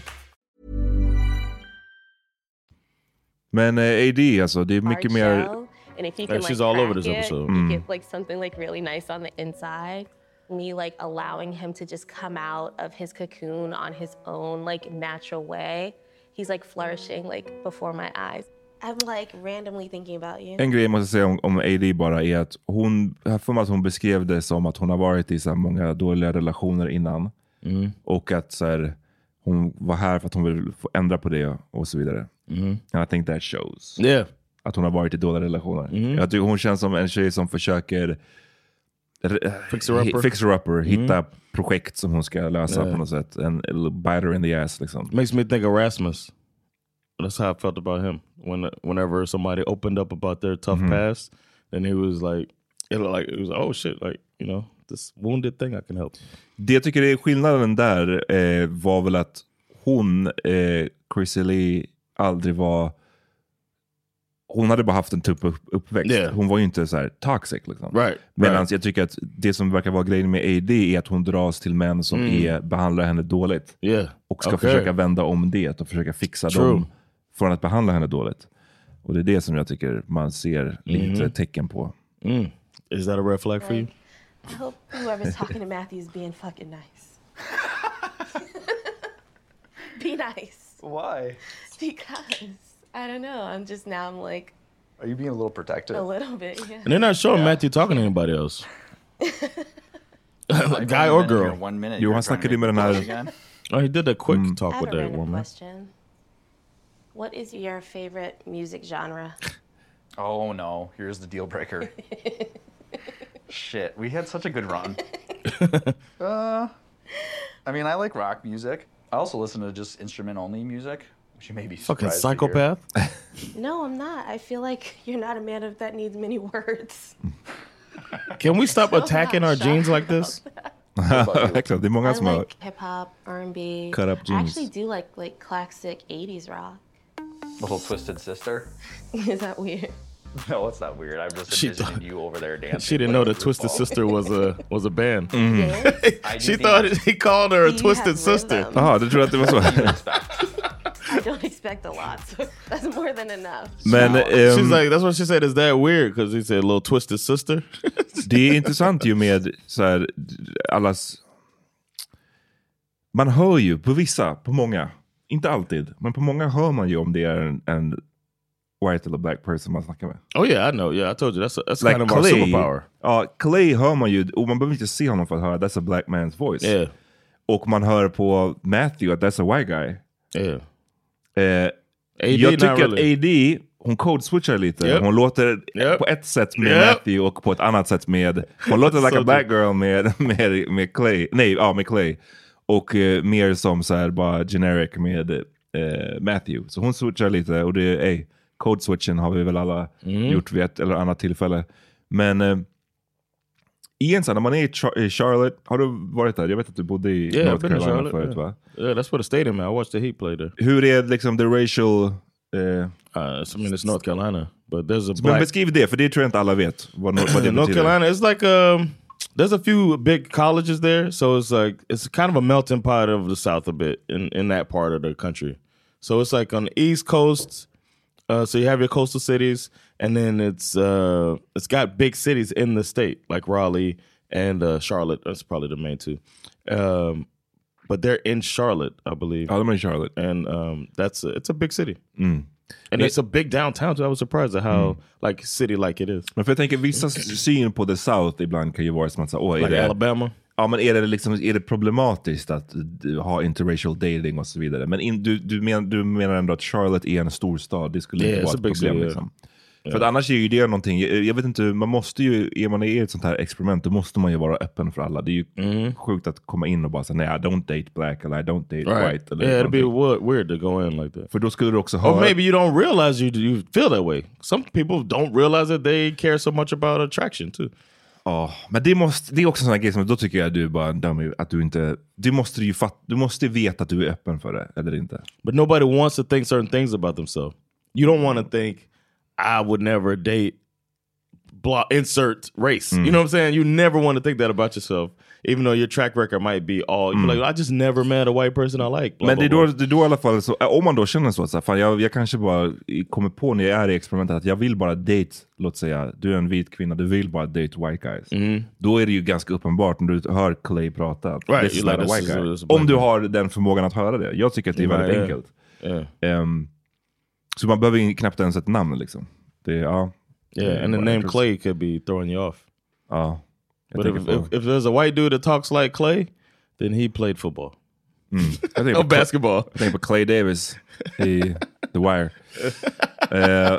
Men eh, A D, alltså, det är mycket Hard mer... shell, and if you Yeah, can, like, she's all over crack this it, episode. you Mm. get like something like really nice on the inside. Me like allowing him to just come out of his cocoon on his own like natural way. He's like flourishing like before my eyes. I'm like randomly thinking about you. En grej jag måste säga om, om A D bara är att hon, jag för mig att hon beskrev det som att hon har varit i så här många dåliga relationer innan. Mm. Och att så här, hon var här för att hon vill få ändra på det och så vidare. Mm. And I think that shows. Yeah. Att hon har varit i dåliga relationer. Mm. Jag tycker hon känns som en tjej som försöker Fixer-upper. Fixer-upper. Hitta Mm. projekt som hon ska lösa Yeah. på något sätt. En biter in the ass liksom. Makes me think of Rasmus. That's how I felt about him. When whenever somebody opened up about their tough Mhm. past, then he was like, it looked like it was oh shit, like you know this wounded thing I can help. Det jag tycker är skillnaden där eh, var väl att hon, eh, Chrissy Lee, aldrig var... Hon hade bara haft en tuff upp, uppväxt. Yeah. Hon var ju inte så här toxic liksom. Right. Medan right. jag tycker att det som verkar vara grejen med A D är att hon dras till män som Mm. är, behandlar henne dåligt. Yeah. Och ska Okay. försöka vända om det och försöka fixa True. dem från att behandla henne dåligt. Och det är det som jag tycker man ser lite Mhm. tecken på. Mm. Is that a red flag for you? I hope whoever's talking to Matthew is being fucking nice. Be nice. Why? Because I don't know. I'm just now I'm like Are you being a little protective? a little bit, yeah. And they're not showing Matthew talking to anybody else. Guy or girl. One minute. Jo, you're han trying snackade to med den make här... it again? Oh, he did a quick Mm. talk I have with a that random woman. question. What is your favorite music genre? Oh no, here's the deal breaker. Shit, we had such a good run. uh, I mean, I like rock music. I also listen to just instrument-only music, which you may be Fucking surprised to hear. psychopath. No, I'm not. I feel like you're not a man of that needs many words. Can we stop I'm attacking not our shy jeans like about this? Exakt, det är många I som har... like hip hop, R and B. Cut up I jeans. actually do like like classic eighties rock. Little Twisted Sister. Is that weird? No, it's not weird. I'm just She envisioning thought- you over there dancing. She didn't know with that Twisted RuPaul. Sister was a was a band. Mm. I do She think thought that's- he called her a You Twisted have Sister. rhythm. Jaha, du tror att det var så? I don't expect expect a lot, so that's more than enough. Men, um, she's like, that's what she said, is that weird? Because he said a little twisted sister. Det är intressant ju med så här, allas... Man hör ju på vissa, på många, inte alltid, men på många hör man ju om det är en, en white eller black person man snackar med. Oh yeah, I know. Yeah, I told you. That's, a, that's like kind of our superpower. Ja, Clay hör man ju, och man behöver inte se honom för att höra that's a black man's voice. Yeah. Och man hör på Matthew att that's a white guy. Yeah. Eh, A D, jag tycker really. att A D, hon code-switchar lite. Yep. Hon låter yep. på ett sätt med yep. Matthew och på ett annat sätt med... Hon låter like So a black girl med, med, med Clay. Nej, ja, med Clay. Och uh, mer som så här bara generic med uh, Matthew. Så hon switchar lite och det är... Hey, code-switchen har vi väl alla mm. gjort vid ett eller annat tillfälle. Men... Uh, igen så när man är i, Char- i Charlotte, har du varit där? Jag vet att du bodde i Yeah, North Carolina Charlotte, förut, yeah. va? Yeah, that's where the stadium is. I watched the Heat play there. Hur är liksom the racial... Uh, uh, I mean, it's North Carolina, but there's a black... black... Men beskriv det, för det tror jag inte alla vet. Vad, vad det North Carolina, it's like... Um, there's a few big colleges there, so it's like... It's kind of a melting pot of the South a bit in, in that part of the country. So it's like on the East Coast, uh, so you have your coastal cities, and then it's uh, it's got big cities in the state, like Raleigh and uh, Charlotte. That's probably the main two. Um, but they're in Charlotte, I believe. Oh, they're in Charlotte. And um, that's a, it's a big city. Mm. And it's a big downtown, so I was surprised at how mm. like city like it is. Men för jag tänker, vissa syn på the South ibland kan ju vara som att säga, åh, är like det... Alabama? Ja, men är det liksom, är det problematiskt att ha interracial dating och så vidare? Men in, du, du, men, du menar ändå att Charlotte är en stor stad, det skulle yeah, inte vara ett problem city, liksom. Yeah. För att annars är ju det någonting, jag, jag vet inte, man måste ju, är man i ett sånt här experiment, då måste man ju vara öppen för alla. Det är ju mm. sjukt att komma in och bara säga, nej, I don't date black, eller I don't date right. white. Eller yeah, it'd någonting. be weird to go in like that. För då skulle du också ha... Or maybe you don't realize you, you feel that way. Some people don't realize that they care so much about attraction too. Ja, oh, men det, måste, det är också en sån här grej som då tycker jag att du är bara en dummy, att du inte, du måste ju fatt, du måste veta att du är öppen för det, eller inte. But nobody wants to think certain things about themselves. You don't want to think, I would never date blah, insert race. Mm. You know what I'm saying? You never want to think that about yourself. Even though your track record might be all, mm. like, I just never met a white person I like. Blah, men det är, blah, då, det är då i alla fall, så, om man då känner så att så här, fan, jag, jag kanske bara kommer på när jag är i experimentet att jag vill bara date, låt säga, du är en vit kvinna, du vill bara date white guys. Mm. Då är det ju ganska uppenbart när du hör Clay prata. Right, this is not like, a white guy. Is, om du har den förmågan att höra det. Jag tycker att det är väldigt yeah. enkelt. Yeah. Um, så man behöver knappt ens ett namn liksom. Det, ja, yeah, and the name Clay could be throwing you off. Ja. But if, if, if there's a white dude that talks like Clay, then he played football. Mm. Or basketball. I think på Clay Davis i The Wire. uh,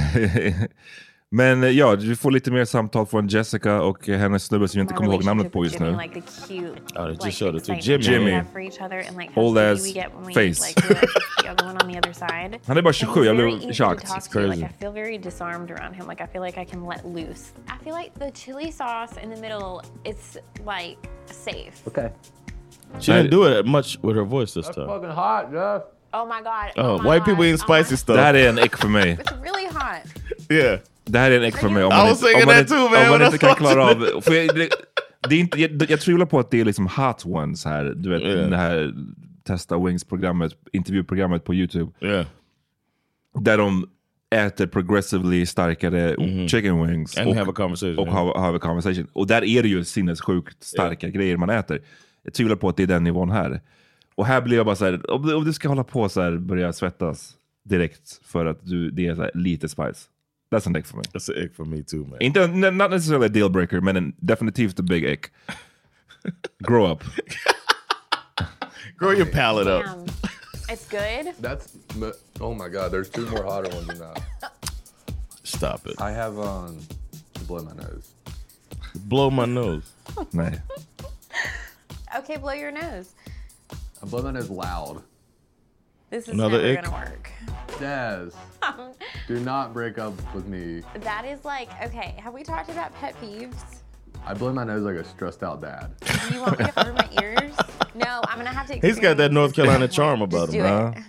Men ja, vi får lite mer samtal från Jessica och hennes snubbe som jag inte kommer ihåg namnet på just nu. Like the cute, oh, they just like, showed it to Jimmy. Jimmy. For each other and like old ass we get when we, face. Like, the other one on the other side. Han är bara tjugosju, jag blev chocked. It's crazy. Like, I feel very disarmed around him. Like I feel like I can let loose. I feel like the chili sauce in the middle, it's like safe. Okay. She didn't do it much with her voice this That's time. fucking hot, Jeff. Oh my god. Oh, Oh, my white god. people eating spicy oh stuff. Det här är en ick för mig. It's really hot. Yeah. Det här är en ick för mig. Om I man was inte, thinking om man that inte, too, man, om man when inte I kan was klara watching av... För jag, det, det är inte, jag, jag tvivlar på att det är liksom hot ones här. Du vet, Yeah. det här Testa Wings-programmet, intervjuprogrammet på YouTube. Yeah. Där de äter progressively starkare Mhm. chicken wings. And och, have a conversation, Och yeah. have, have a conversation. Och där är det ju sinnessjukt starka grejer man äter. Jag tvivlar på att det är den nivån här. Och här blir jag bara så här, om du, om du ska hålla på så här, börja svettas direkt för att du, det är så här, lite spice. That's an ick för mig. That's an ick for me too, man. Inte, not necessarily a deal breaker, men en, definitivt a big ick. Grow up. Grow your palate up. Damn. It's good. That's, oh my God, there's two more hotter ones than that. Stop it. I have um, to blow my nose. Blow my nose. Nej. Okay, blow your nose. I blow my nose loud. This is Another never ick? gonna work. Daz, do not break up with me. That is like, okay, have we talked about pet peeves? I blow my nose like a stressed out dad. Do you want me to cover my ears? No, I'm gonna have to. He's got that North Carolina charm about Just him. do Huh?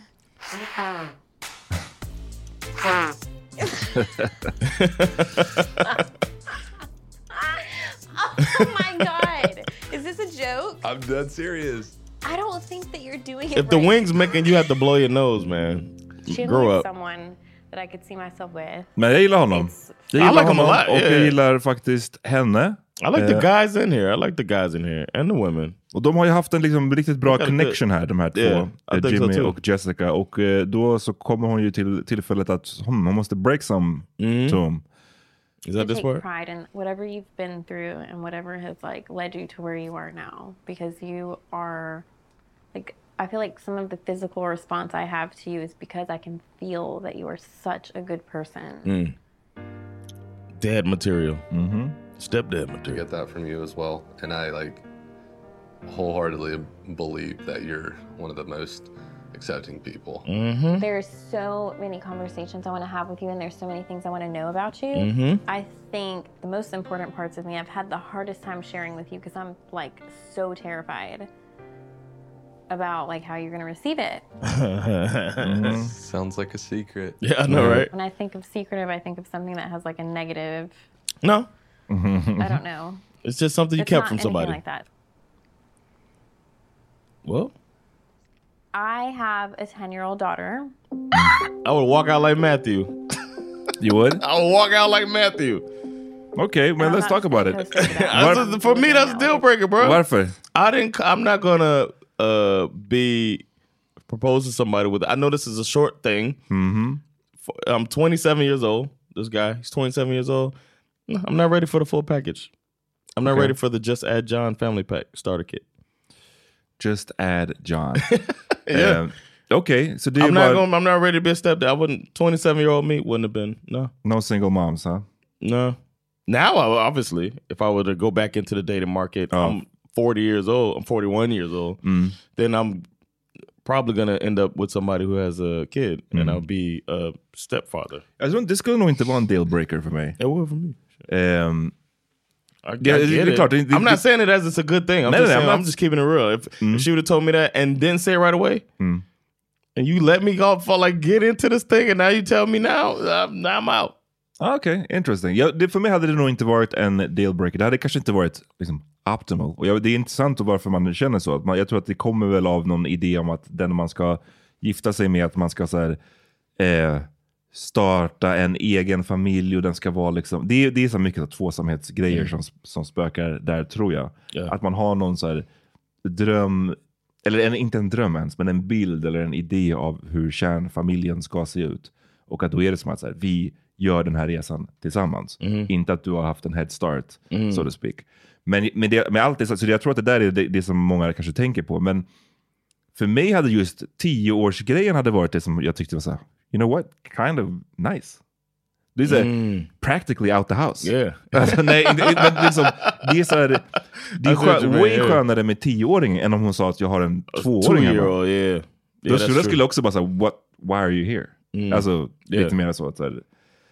Oh my god. Is this a joke? I'm dead serious. I don't think that you're doing it If the right. wing's making you have to blow your nose, man. Chandler grow is up. someone that I could see myself with. Men jag gillar honom. Jag I gillar like him a honom lot, och yeah. jag gillar faktiskt henne. I like the Eh, guys in here. I like the guys in here and the women. Och de har ju haft en liksom riktigt bra Got a connection good- här, de här två. Yeah, I eh, think so Jimmy too. och Jessica. Och eh, då så kommer hon ju till tillfället att hmm, hon måste break some Mm. to him. Is To take pride in whatever you've been through and whatever has like led you to where you are now, because you are like, I feel like some of the physical response I have to you is because I can feel that you are such a good person. Mm. Dad material. Mm-hmm. Stepdad I material. get that from you as well, and I like wholeheartedly believe that you're one of the most accepting people. Mm-hmm. There's so many conversations I want to have with you, and there's so many things I want to know about you. Mhm. I think the most important parts of me, I've had the hardest time sharing with you because I'm like so terrified about like how you're going to receive it. Mhm. Sounds like a secret. Yeah, I know, right? When I think of secretive, I think of something that has like a negative. No. I don't know. It's just something you It's kept not from anything somebody. like that. Well, I have a ten-year-old daughter. I would walk out like Matthew. You would? I would walk out like Matthew. Okay, well, let's talk about it. That's- for me, that's a deal breaker, bro. Varför? I didn't. I'm not gonna uh, be propose to somebody with. I know this is a short thing. Mm-hmm. I'm twenty-seven years old. This guy, he's twenty-seven years old. No, I'm not ready for the full package. I'm not Okay. ready for the Just Add John family pack starter kit. Just add John. Yeah. Eh, Okej, så det är I'm bara... not going. I'm not ready to be a stepdad. I wouldn't. twenty-seven year old me wouldn't have been. No. No single moms, huh? No. Now, I, obviously, if I were to go back into the dating market, I'm forty years old. I'm forty-one years old. Mm. Then I'm probably gonna end up with somebody who has a kid, and Mm. I'll be a stepfather. Jag tror inte, det skulle nog inte vara en dealbreaker för mig. It would for me. Um, I, I Ja, det- get det är it. klart, det- det- I'm not saying it as it's a good thing. I'm, Nej, just, nej, saying, I'm I'm, not- just keeping it real. If, Mm. if she would have told me that and didn't say it right away, Mm. and you let me go for like get into this thing, and now you tell me now, I'm, I'm out. Ah, Okej, okay, interesting. Ja, det, för mig hade det nog inte varit en dealbreaker. Det hade kanske inte varit liksom, optimal. Och jag, det är intressant varför man känner så. Att man, jag tror att det kommer väl av någon idé om att den man ska gifta sig med, att man ska så här, eh, starta en egen familj och den ska vara liksom... Det, är- det är så mycket så tvåsamhetsgrejer Mm. som, som spökar där, tror jag. Ja. Att man har någon så här dröm, eller en, inte en dröm ens, men en bild eller en idé av hur kärnfamiljen ska se ut. Och att då är det som att så här, vi gör den här resan tillsammans. Mhm. Inte att du har haft en head start, Mm. so to speak. Men med, det, med allt det, så så jag tror att det där är det, det som många kanske tänker på. Men för mig hade just tioårsgrejen hade varit det som jag tyckte var så här, you know what, kind of nice. Det är så här, Mm. practically out the house. Yeah. Alltså, nej, inte- men liksom, det är så här, det är I see what skön, you mean, way yeah. skönare med tioåring än om hon sa att jag har en tvååring hemma. Two-year-old, yeah. Då Yeah, skulle that's jag skulle true. också bara säga, what, why are you here? Mm. Alltså, Yeah. lite mer så att så här,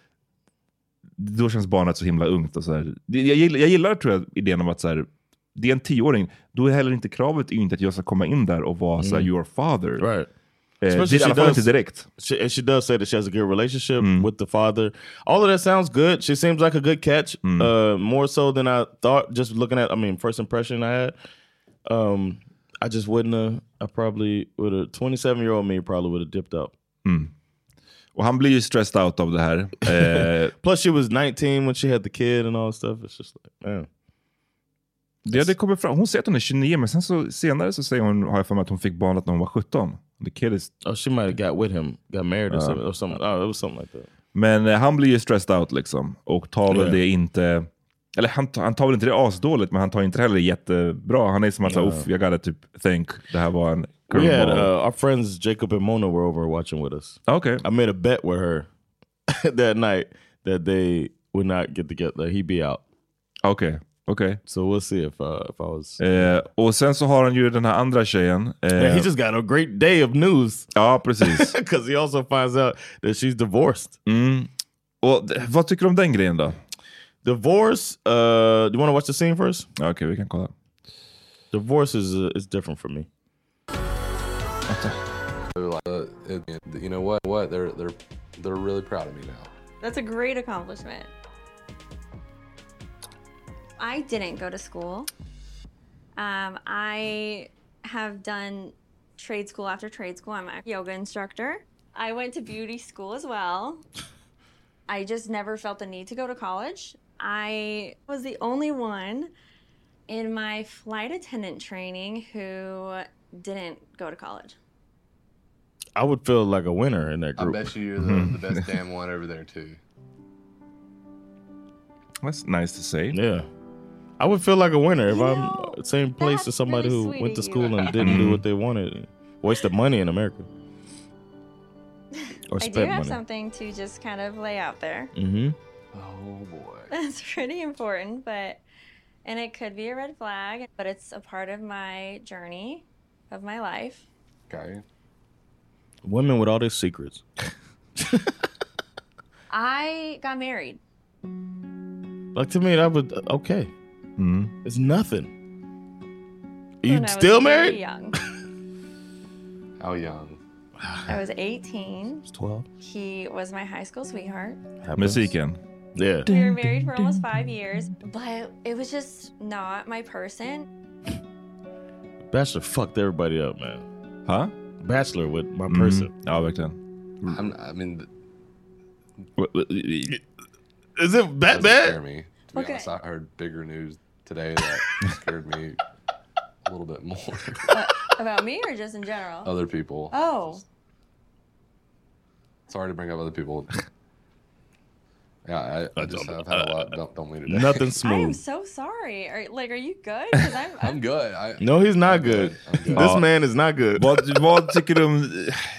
då känns barnet så himla ungt och så här. Det- Jag gillar, jag gillar tror jag idén om att så här, det är en tioåring, då är heller inte kravet inte att jag ska komma in där och vara så här, Mm. your father. Right. Eh, det Especially är i alla she fall does- inte direkt. She, and she does say that she has a good relationship with the father. All of that sounds good. She seems like a good catch. Uh, more so than I thought. Just looking at, I mean, first impression I had. Um, I just wouldn't have. I probably would have. twenty-seven year old me probably would have dipped out. Mm. Och han blir ju stressed out av det här. Eh, Plus, she was nineteen when she had the kid and all that stuff. It's just like, man. det, det kommer fram. Hon säger att hon är tjugonio, men sen så, senare så säger hon, har jag för mig att hon fick barnet när hon var sjutton. The kid is... Oh, she might have got with him, got married or Ja. something. Or something. Oh, it was something like that. Men eh, han blir ju stressed out liksom. Och tar väl Ja. det inte... Eller han, tar- han tar väl inte det asdåligt, men han tar inte heller jättebra. Han är som att Ja. säga, uff, jag gotta typ think det här var en We had curveball. uh, our friends Jacob and Mona were over watching with us. Okay. I made a bet with her that night that they would not get together. That he'd be out. Okej, okej. So we'll see if uh, if I was. Eh, och sen så har han ju den här andra tjejen. Eh, Yeah, he just got a great day of news. Ja, precis. Because he also finds out that she's divorced. Mm. Och d- vad tycker du om den grejen då? Divorce. Uh, do you want to watch the scene first? Okej, okay, vi kan kolla. Divorce is uh, is different for me. Like, uh, it, you know what? What they're they're they're really proud of me now. That's a great accomplishment. I didn't go to school. Um, I have done trade school after trade school. I'm a yoga instructor. I went to beauty school as well. I just never felt the need to go to college. I was the only one in my flight attendant training who didn't go to college. I would feel like a winner in that I group. bet you you're the, the best damn one over there too. That's nice to say. Yeah. I would feel like a winner if You I'm know, same place as somebody really who sweet went to of you. school and didn't do what they wanted. Wasted money in America. Or I do spent have money. something to just kind of lay out there. Mm-hmm. Oh boy. That's pretty important, but, and it could be a red flag, but it's a part of my journey of my life. Okay. Women with all their secrets. I got married. Like to me, that would okay. Mm-hmm. It's nothing. Are you When I was still very married? Young. How young? I was eighteen. twelve. He was my high school sweetheart. Musiken. Yeah. We were married for almost five years, but it was just not my person. Bachelor fucked everybody up, man. Huh? Bachelor with my Mm. person. Ja, verkligen. I'm, I mean, is it that doesn't bad? Scare me. To be Okay. honest, I heard bigger news today that scared me a little bit more. What, about me or just in general? Other people. Oh. Sorry to bring up other people. Yeah, I, I just have had a lot. Don't, don't lead today. Nothing I am smooth. so sorry. Are, like, are you good? Because I'm, I'm good. I, No, he's not I'm good. I'm good. This Ja. man is not good. Vad, vad tycker du om...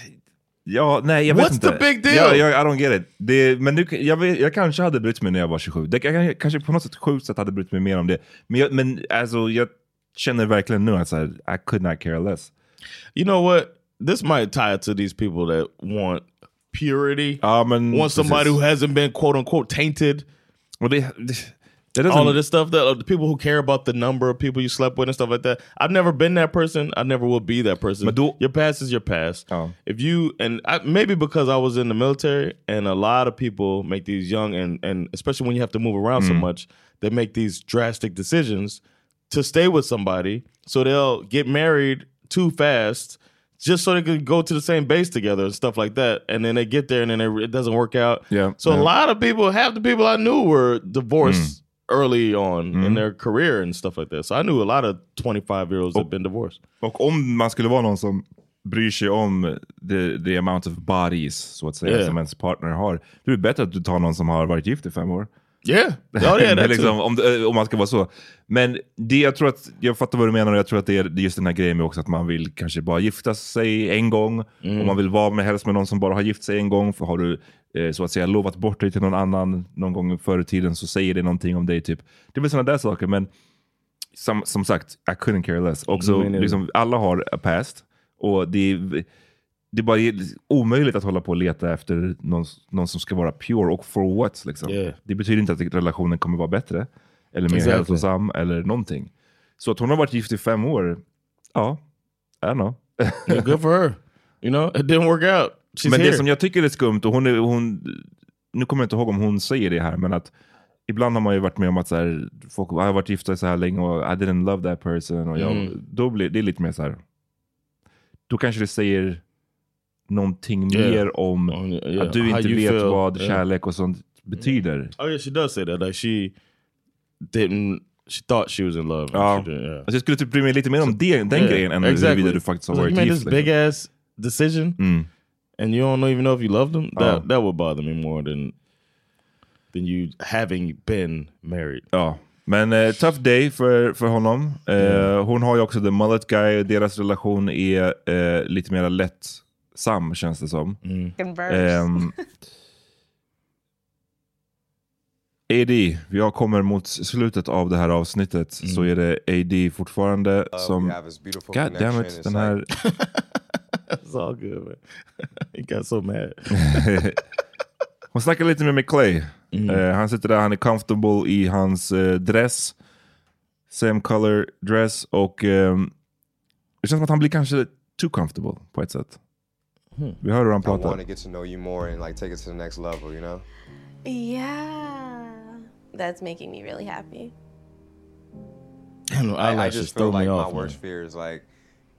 Ja, nej, jag vet What's inte. the big deal? Ja, jag, I don't get it. Det, men nu, jag, vet, jag kanske hade brytt mig när jag var tjugosju. Det, jag kanske på något sätt sjukt sätt hade brytt mig mer om det. Men, jag, men alltså, jag känner verkligen nu att så här, I could not care less. You know what? This might tie it to these people that want purity. Ja, men, want somebody precis. who hasn't been quote unquote tainted. Och det, det, det All of this stuff, that uh, the people who care about the number of people you slept with and stuff like that. I've never been that person. I never will be that person. Men då, your past is your past. Ja. If you and I, maybe because I was in the military and a lot of people make these young and and especially when you have to move around so Mm. much, they make these drastic decisions to stay with somebody. So they'll get married too fast just so they can go to the same base together and stuff like that. And then they get there and then it, it doesn't work out. Yeah, So yeah. a lot of people, half the people I knew were divorced early on in Mm. their career and stuff like that. So I knew a lot of twenty-five year olds that had been divorced. Och om man skulle vara någon som bryr sig om the, the amount of bodies, så att säga, Yeah. som ens partner har, då är det bättre att du tar någon som har varit gift i fem år. Yeah. Oh, yeah, Det är that liksom, too. om, det- om man ska vara så. Men det, jag tror att, jag fattar vad du menar, och jag tror att det är just den här grejen med också att man vill kanske bara gifta sig en gång, Mm. och man vill vara med helst med någon som bara har gift sig en gång, för har du eh, så att säga lovat bort dig till någon annan någon gång förr i tiden, så säger det någonting om dig typ. Det är väl sådana där saker, men som, som sagt, I couldn't care less. Och så, Me neither. liksom, alla har a past, och det är, det är bara omöjligt att hålla på och leta efter någon, någon som ska vara pure, och for what liksom. Yeah. Det betyder inte att relationen kommer vara bättre eller mer Exactly. hälsosam eller någonting. Så att hon har varit gift i fem år, ja, I don't know. Yeah, good for her. You know, it didn't work out. She's Men here. det som jag tycker är skumt, och hon, är, hon nu kommer jag inte ihåg om hon säger det här, men att ibland har man ju varit med om att så här, folk jag har varit gifta så här länge och I didn't love that person, och jag, Mm. då blir det är lite mer så här, då kanske det säger någonting Yeah. mer om yeah. att du How inte you vet feel. vad Yeah. kärlek och sånt betyder. Oh yeah, she does say that. Like she didn't. She thought she was in love. and Ja. she didn't, yeah. Alltså jag skulle typ bry mig lite mer om det, den Yeah, grejen än exactly. huruvida du faktiskt har It's like, varit you made gift. this big liksom. ass decision, Mm. and you don't even know if you love them. That Ja. that would bother me more than than you having been married. Ja, men eh, tough day för, för honom. Eh, Mm. Hon har ju också the mullet guy. Deras relation är eh, lite mer lättsam, känns det som. Mm. Ehm, A D, jag kommer mot slutet av det här avsnittet, Mm. så är det A D fortfarande Uh, som... we have this beautiful God damn connection. it, It's den här... It's all good, man. He got so mad. Hon snackar lite med McClay. Mm. Eh, han sitter där, han är comfortable i hans eh, dress. Same color dress. Och ehm, det känns som att han blir kanske too comfortable på ett sätt. Hmm. Vi hör hur han I want pratar. to get to know you more and like take it to the next level, you know? Yeah. That's making me really happy. Damn, the I, I eyelashes just throw feel me like off. my man. worst fear is like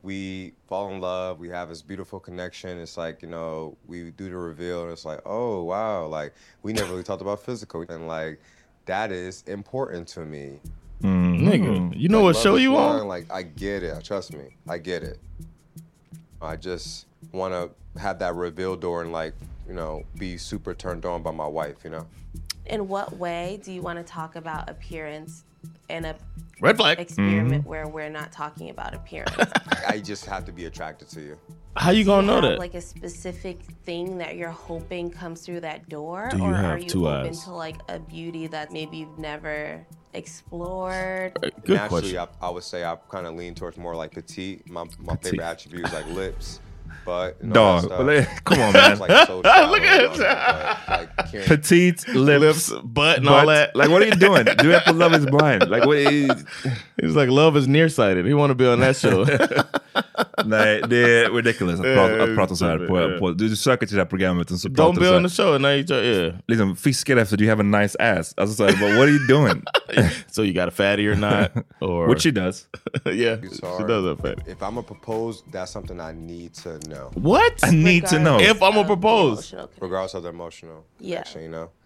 we fall in love, we have this beautiful connection. It's like, you know, we do the reveal and it's like, oh, wow. Like, we never really talked about physical. And like, that is important to me. Mm. Nigga, you know like, what show you blind, on? Like, I get it. Trust me. I get it. I just want to have that reveal door and like, you know, be super turned on by my wife, you know? In what way do you want to talk about appearance in a Red flag experiment Mm-hmm. where we're not talking about appearance? I just have to be attracted to you. How you gonna Do know have, that? Like a specific thing that you're hoping comes through that door, Do you or have are you two open eyes? to like a beauty that maybe you've never explored? Good Naturally, question. I, I would say I kind of lean towards more like petite. My my Petite. favorite attribute is like lips, but you know, Dog, that stuff, but like, come on, man. it's, like, so shallow, Look at you know, but, like, caring- Petite lips, Lips, butt, and all that. Like, what are you doing? Do it for Love Is Blind. Like, what is... He's like, love is nearsighted. He want to be on that show. Nej, det är ridiculous att prata, att prata så här på, Yeah. på du, du söker till det här programmet och så Don't pratar du be så on the här, show and now you try, yeah. liksom fiskar efter do you have a nice ass? Alltså så här, but what are you doing? So you got a fatty or not? Or Which she does. Yeah, It's she hard. does have fatty. If I'm gonna propose, that's something I need to know. What? I need to know. If I'm gonna propose. Regardless of the emotional Yeah. connection, you know?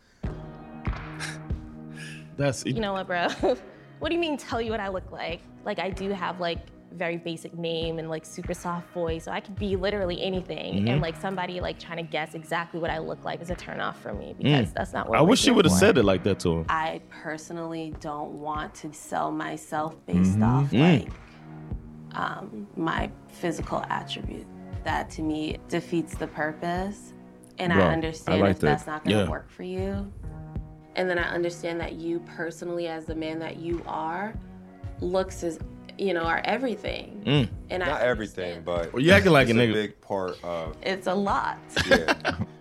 That's You know what, bro? What do you mean tell you what I look like? Like, I do have like very basic name and like super soft voice, so I could be literally anything. Mhm. And like somebody like trying to guess exactly what I look like is a turn off for me because Mm. that's not what I we're wish she here would have for. said it like that to him. I personally don't want to sell myself based Mhm. off Mm. like um, my physical attribute. That to me defeats the purpose. And Wow, I I understand like if that. that's not going to Yeah. work for you. And then I understand that you personally, as the man that you are, looks is, you know, are everything. Mm. And Not I everything, but Well, you acting like it's a a nigga. big part of it's a lot. yeah.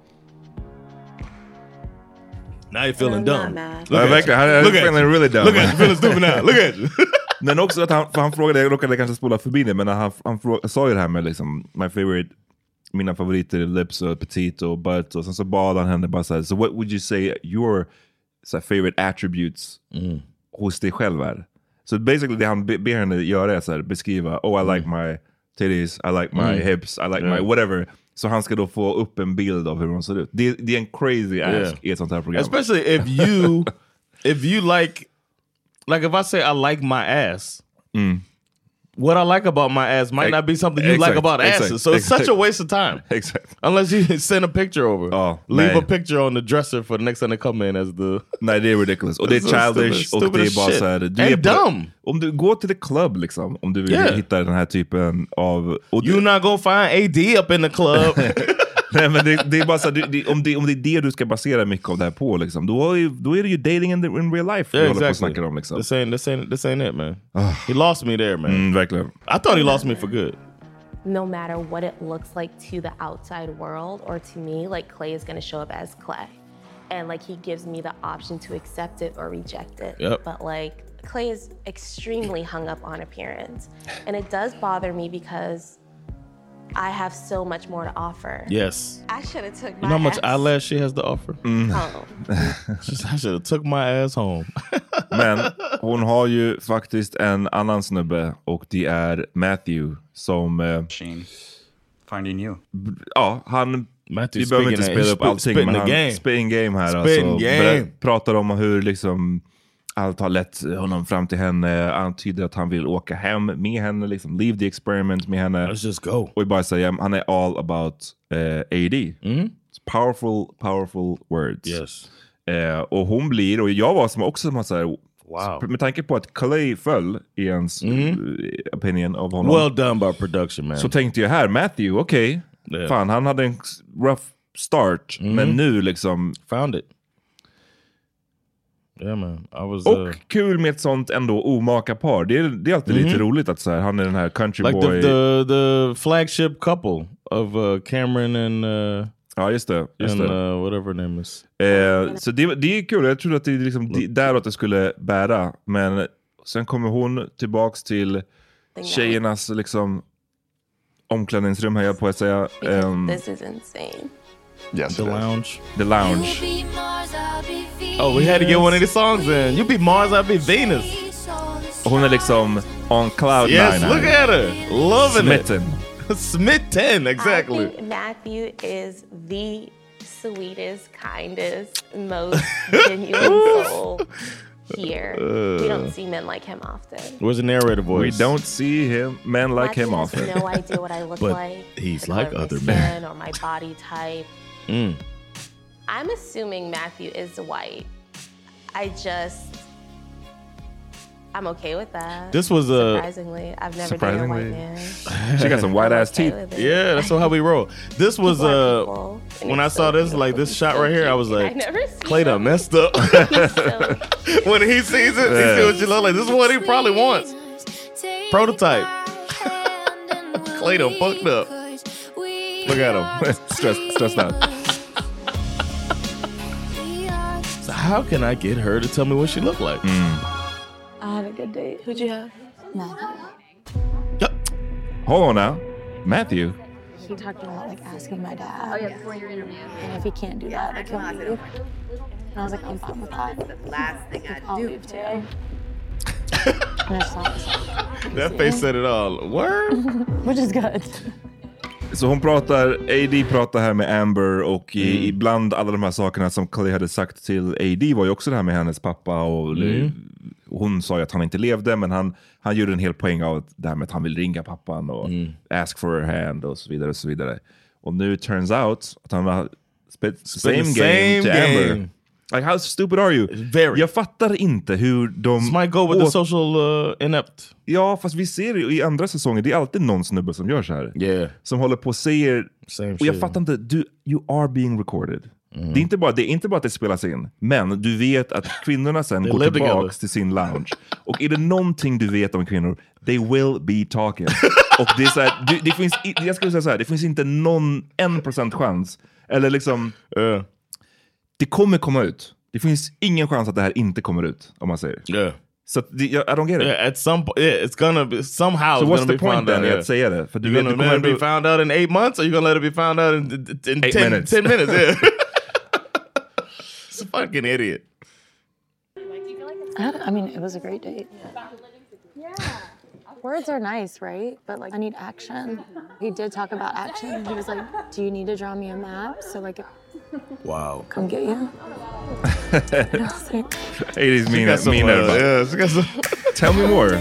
Now you're feeling I'm dumb. not mad. Ja, at verkligen. you. Han är Look at feeling you. really dumb. Look at you. Feeling stupid now. Look at you. Men också att han, för han frågade, jag råkade kanske spola förbi det, men han, han frå, sa ju det här med liksom, my favorite, mina favoriter är lips och petite och butt, och sen så bad han henne bara såhär, so what would you say your så här, favorite attributes Mm. hos dig själv är? Så basically det han be, ber henne göra är så här, beskriva, oh I like my titties, I like my Mm. hips, I like Yeah. my whatever. Så han ska då få upp en bild av hur hon ser ut. Det, det är en crazy ask Yeah. i ett sånt här program. Especially if you, if you like, like if I say I like my ass, Mm. what I like about my ass might Ex- not be something you exact, like about exact, asses. So it's exact. such a waste of time. Exakt. Unless you send a picture over. Ja, Leave nej. a picture on the dresser for the next time they come in as the... Nej, det är ridiculous. Och det är It's so childish stupid, och det är stupid bara as så här, shit. du And är på, dumb. om du går till the club liksom, om du vill Yeah. hitta den här typen av... Och You not gonna find A D up in the club. Nej, men det, det är bara så här, du, det, om, det, om det är det du ska basera mycket av det här på, liksom, då, är, ju- då är det ju dating in, the, in real life vi Yeah, håller på och exactly. snackar om. Liksom. This ain't, this ain't, this ain't it, man. He lost me there, man. Mm, verkligen. I thought he lost me for good. No matter what it looks like to the outside world or to me, like Clay is going to show up as Clay. And like he gives me the option to accept it or reject it. Yep. But like Clay is extremely hung up on appearance. And it does bother me because I have so much more to offer. Yes. I should have took You my know how much ass eyelash she has to offer? Mm. home. I should have took my ass home. Men hon har ju faktiskt en annan snubbe och det är Matthew som... Eh, Finding you. Ja, han... Matthew vi behöver inte speaking spela that- upp allting, spitting men the han game. spitting game här. Spitting alltså, game. Ber- pratar om hur liksom allt har lett honom fram till henne, antyder att han vill åka hem med henne, liksom leave the experiment med henne. Let's just go. Och bara säga, han är all about uh, A D. Mm. It's powerful, powerful words. Yes. Uh, och hon blir, och jag var som också som att säga, Wow. med tanke på att Clay föll i ens Mm. uh, opinion av honom. Well done by production, man. Så tänkte jag här, Matthew, okej. Okay. Yeah. Fan, han hade en rough start, Mm. men nu liksom... Found it. Yeah, man. I was... Och uh, kul med ett sånt ändå omaka par. Det är, det är alltid Mhm. lite roligt att så här, han är den här country like boy. the, the the flagship couple of uh, Cameron and uh, ja, just det. Just and det. Uh, whatever her name is. Eh, så det, det är kul. Jag trodde att det är liksom det, däråt det skulle bära. Men sen kommer hon tillbaks till tjejernas liksom omklädningsrum, här jag på att säga. Um, This is insane. yes, The it is. lounge. The lounge. Oh, we had to get one of these songs in. You be Mars, I'll be Venus. Hon är liksom on cloud yes, nine. Yes, look at her. Loving Smitten. it. Smitten, exactly. I think Matthew is the sweetest, kindest, most genuine soul here. Uh, we don't see men like him often. Where's the narrator voice? We don't see him men like Matthew him often. Has no idea what I look but like. He's like other men. Or my body type. Mm. I'm assuming Matthew is white. I just, I'm okay with that. This was a surprisingly. I've never dated a white man. She got some white ass okay teeth. Yeah, that's how we roll. This was uh when I saw this like this shot right here, I was like, Clay done messed up. When he sees it, yeah. He sees what you look like. This is what he probably wants. Prototype. Clay done fucked up. Look at him, stressed, stressed out. So how can I get her to tell me what she looked like? Mm. I had a good date. Who'd you have? Matthew. Yep. Hold on now. Matthew? He talked about like asking my dad. Oh yeah, before your interview. And if he can't do that, like he'll leave. And I was like, I'm fine with that. The last thing I I'll do. leave too. And I just thought, like, that face said it all. Word? Which is good. Så hon pratar, A D pratar här med Amber och mm. i, ibland alla de här sakerna som Clay hade sagt till A D var ju också det här med hennes pappa och mm. hon sa ju att han inte levde, men han, han gjorde en hel poäng av det här med att han vill ringa pappan och mm. ask for her hand och så vidare och så vidare. Och nu turns out att han har spit same, same game to game. Amber. Like, how stupid are you? Very. Jag fattar inte hur de... This might go with the social uh, inept. Ja, fast vi ser det i andra säsonger. Det är alltid någon snubbe som gör så här. Yeah. Som håller på och säger... Same och jag shit. fattar inte, du, you are being recorded. Mm. Det, är inte bara, det är inte bara att det spelas in. Men du vet att kvinnorna sen går tillbaka together. till sin lounge. Och är det någonting du vet om kvinnor, they will be talking. Och det är så här, det, det finns, jag skulle säga så här, det finns inte någon en procent chans. Eller liksom... Uh. Det kommer komma ut. Det finns ingen chans att det här inte kommer ut, om man säger. Yeah. Så so, I don't get it. Yeah, at some point, yeah, it's gonna be somehow. So it's what's gonna the be point found then? out, yeah. Att säga det. För du you're vet, gonna let it be found out in eight months, or you're gonna let it be found out in, in eight ten minutes. Ten minutes. Yeah. It's a fucking idiot. I, had, I mean, it was a great date. Yeah. Words are nice, right? But like, I need action. He did talk about action. He was like, "Do you need to draw me a map so like, wow, come get you?" It is mean. She mean uh, yeah, she got some Tell me more.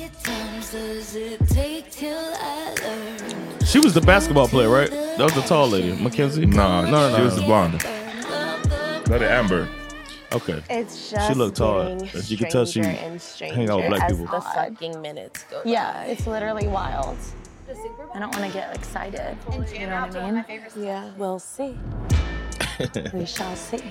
She was the basketball player, right? That was the tall lady, Mackenzie. No, no, no, she no. was the blonde. That is Amber. Okay. It's just she looked tall. As you can tell she hang out with black as people. the fucking minutes go by. Yeah, it's literally wild. I don't want to get excited. You know what I mean? Yeah, we'll see. We shall see.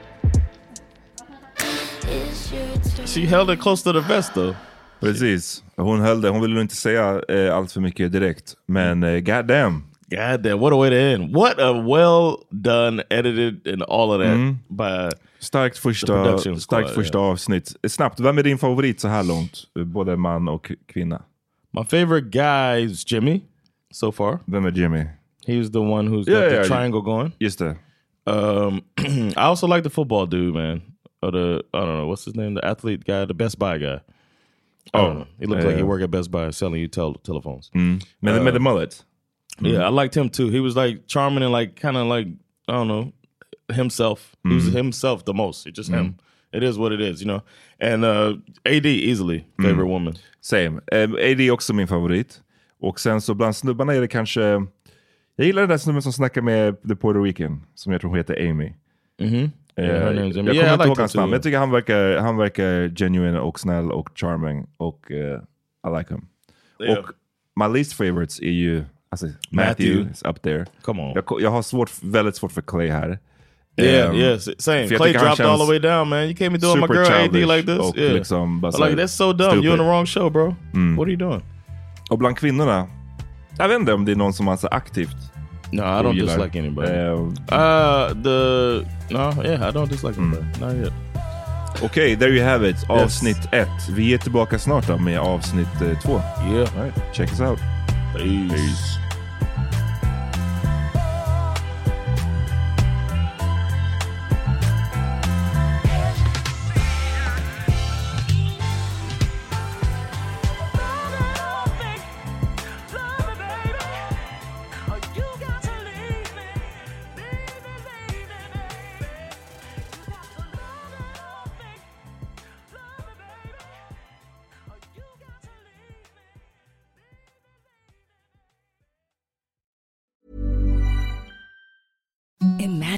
She held it close to the vest though. Precis. Hon höll det. Hon ville inte säga eh, allt för mycket direkt. Men eh, goddamn. Goddamn, what a way to end. What a well done, edited and all of that mm. by starkt första, starkt första yeah. avsnitt. Snabbt, vem är din favorit så här långt? Både man och kvinna. My favorite guy is Jimmy so far. Vem är Jimmy? He's the one who's yeah, got the yeah, triangle going. Just det. Um, I also like the football dude, man. Or the, I don't know, what's his name? The athlete guy, the Best Buy guy. Oh, he looks uh, like he worked at Best Buy selling you tel telephones. Mm. Med, uh, med the mullet. Yeah, mm. I liked him too. He was like charming and like kind of like, I don't know, himself. Mm. He was himself the most. It's just mm. him. It is what it is, you know. And uh, A D easily favorite mm. woman. Same. Um, A D är också min favorit. Och sen så bland snubbarna är det kanske... Jag gillar den där snubben som snackar med The Puerto Rican. Som jag tror hon heter Amy. Mm-hmm. Uh, yeah, jag yeah, kommer yeah, inte ihåg like hans namn. Men jag tycker han verkar, han verkar genuine och snäll och charming. Och uh, I like him. Yeah. Och my least favorites är ju... Alltså, Matthew, Matthew is up there. Come on. Jag, jag har svårt, väldigt svårt för Clay här. Yeah, um, yes, same. Clay dropped all the way down, man. You can't be doing my girl A D like this. Yeah. Liksom, like, that's so dumb. Stupid. You're on the wrong show, bro. Mm. What are you doing? Och bland kvinnorna, jag vet inte om det är någon som är så aktivt. No, I don't dislike like, anybody. Uh, uh, the no, yeah, I don't dislike mm. anybody. Not yet. Okej, okay, there you have it. Avsnitt yes. ett. Vi är tillbaka snart då med avsnitt uh, två. Yeah. All right, check us out. Peace. Peace.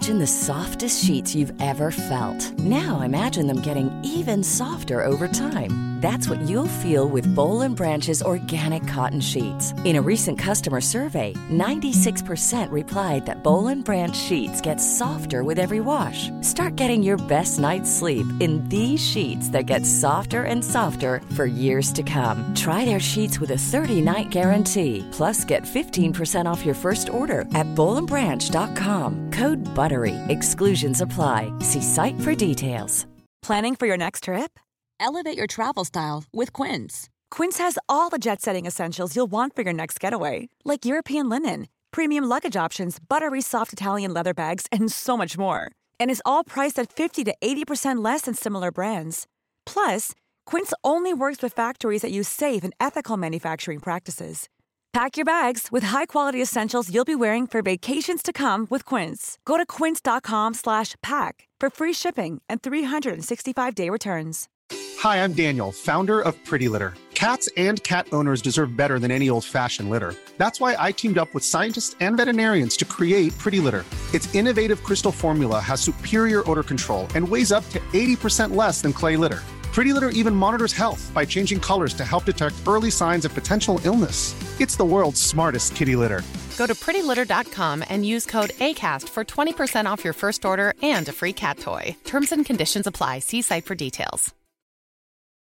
Imagine the softest sheets you've ever felt. Now imagine them getting even softer over time. That's what you'll feel with Boll and Branch's organic cotton sheets. In a recent customer survey, ninety-six percent replied that Boll and Branch sheets get softer with every wash. Start getting your best night's sleep in these sheets that get softer and softer for years to come. Try their sheets with a thirty-night guarantee. Plus, get fifteen percent off your first order at boll and branch dot com. Code BUTTERY. Exclusions apply. See site for details. Planning for your next trip? Elevate your travel style with Quince. Quince has all the jet-setting essentials you'll want for your next getaway, like European linen, premium luggage options, buttery soft Italian leather bags, and so much more. And is all priced at fifty to eighty percent less than similar brands. Plus, Quince only works with factories that use safe and ethical manufacturing practices. Pack your bags with high-quality essentials you'll be wearing for vacations to come with Quince. Go to quince dot com slash pack for free shipping and three sixty-five day returns. Hi, I'm Daniel, founder of Pretty Litter. Cats and cat owners deserve better than any old-fashioned litter. That's why I teamed up with scientists and veterinarians to create Pretty Litter. Its innovative crystal formula has superior odor control and weighs up to eighty percent less than clay litter. Pretty Litter even monitors health by changing colors to help detect early signs of potential illness. It's the world's smartest kitty litter. Go to pretty litter dot com and use code ACAST for twenty percent off your first order and a free cat toy. Terms and conditions apply. See site for details.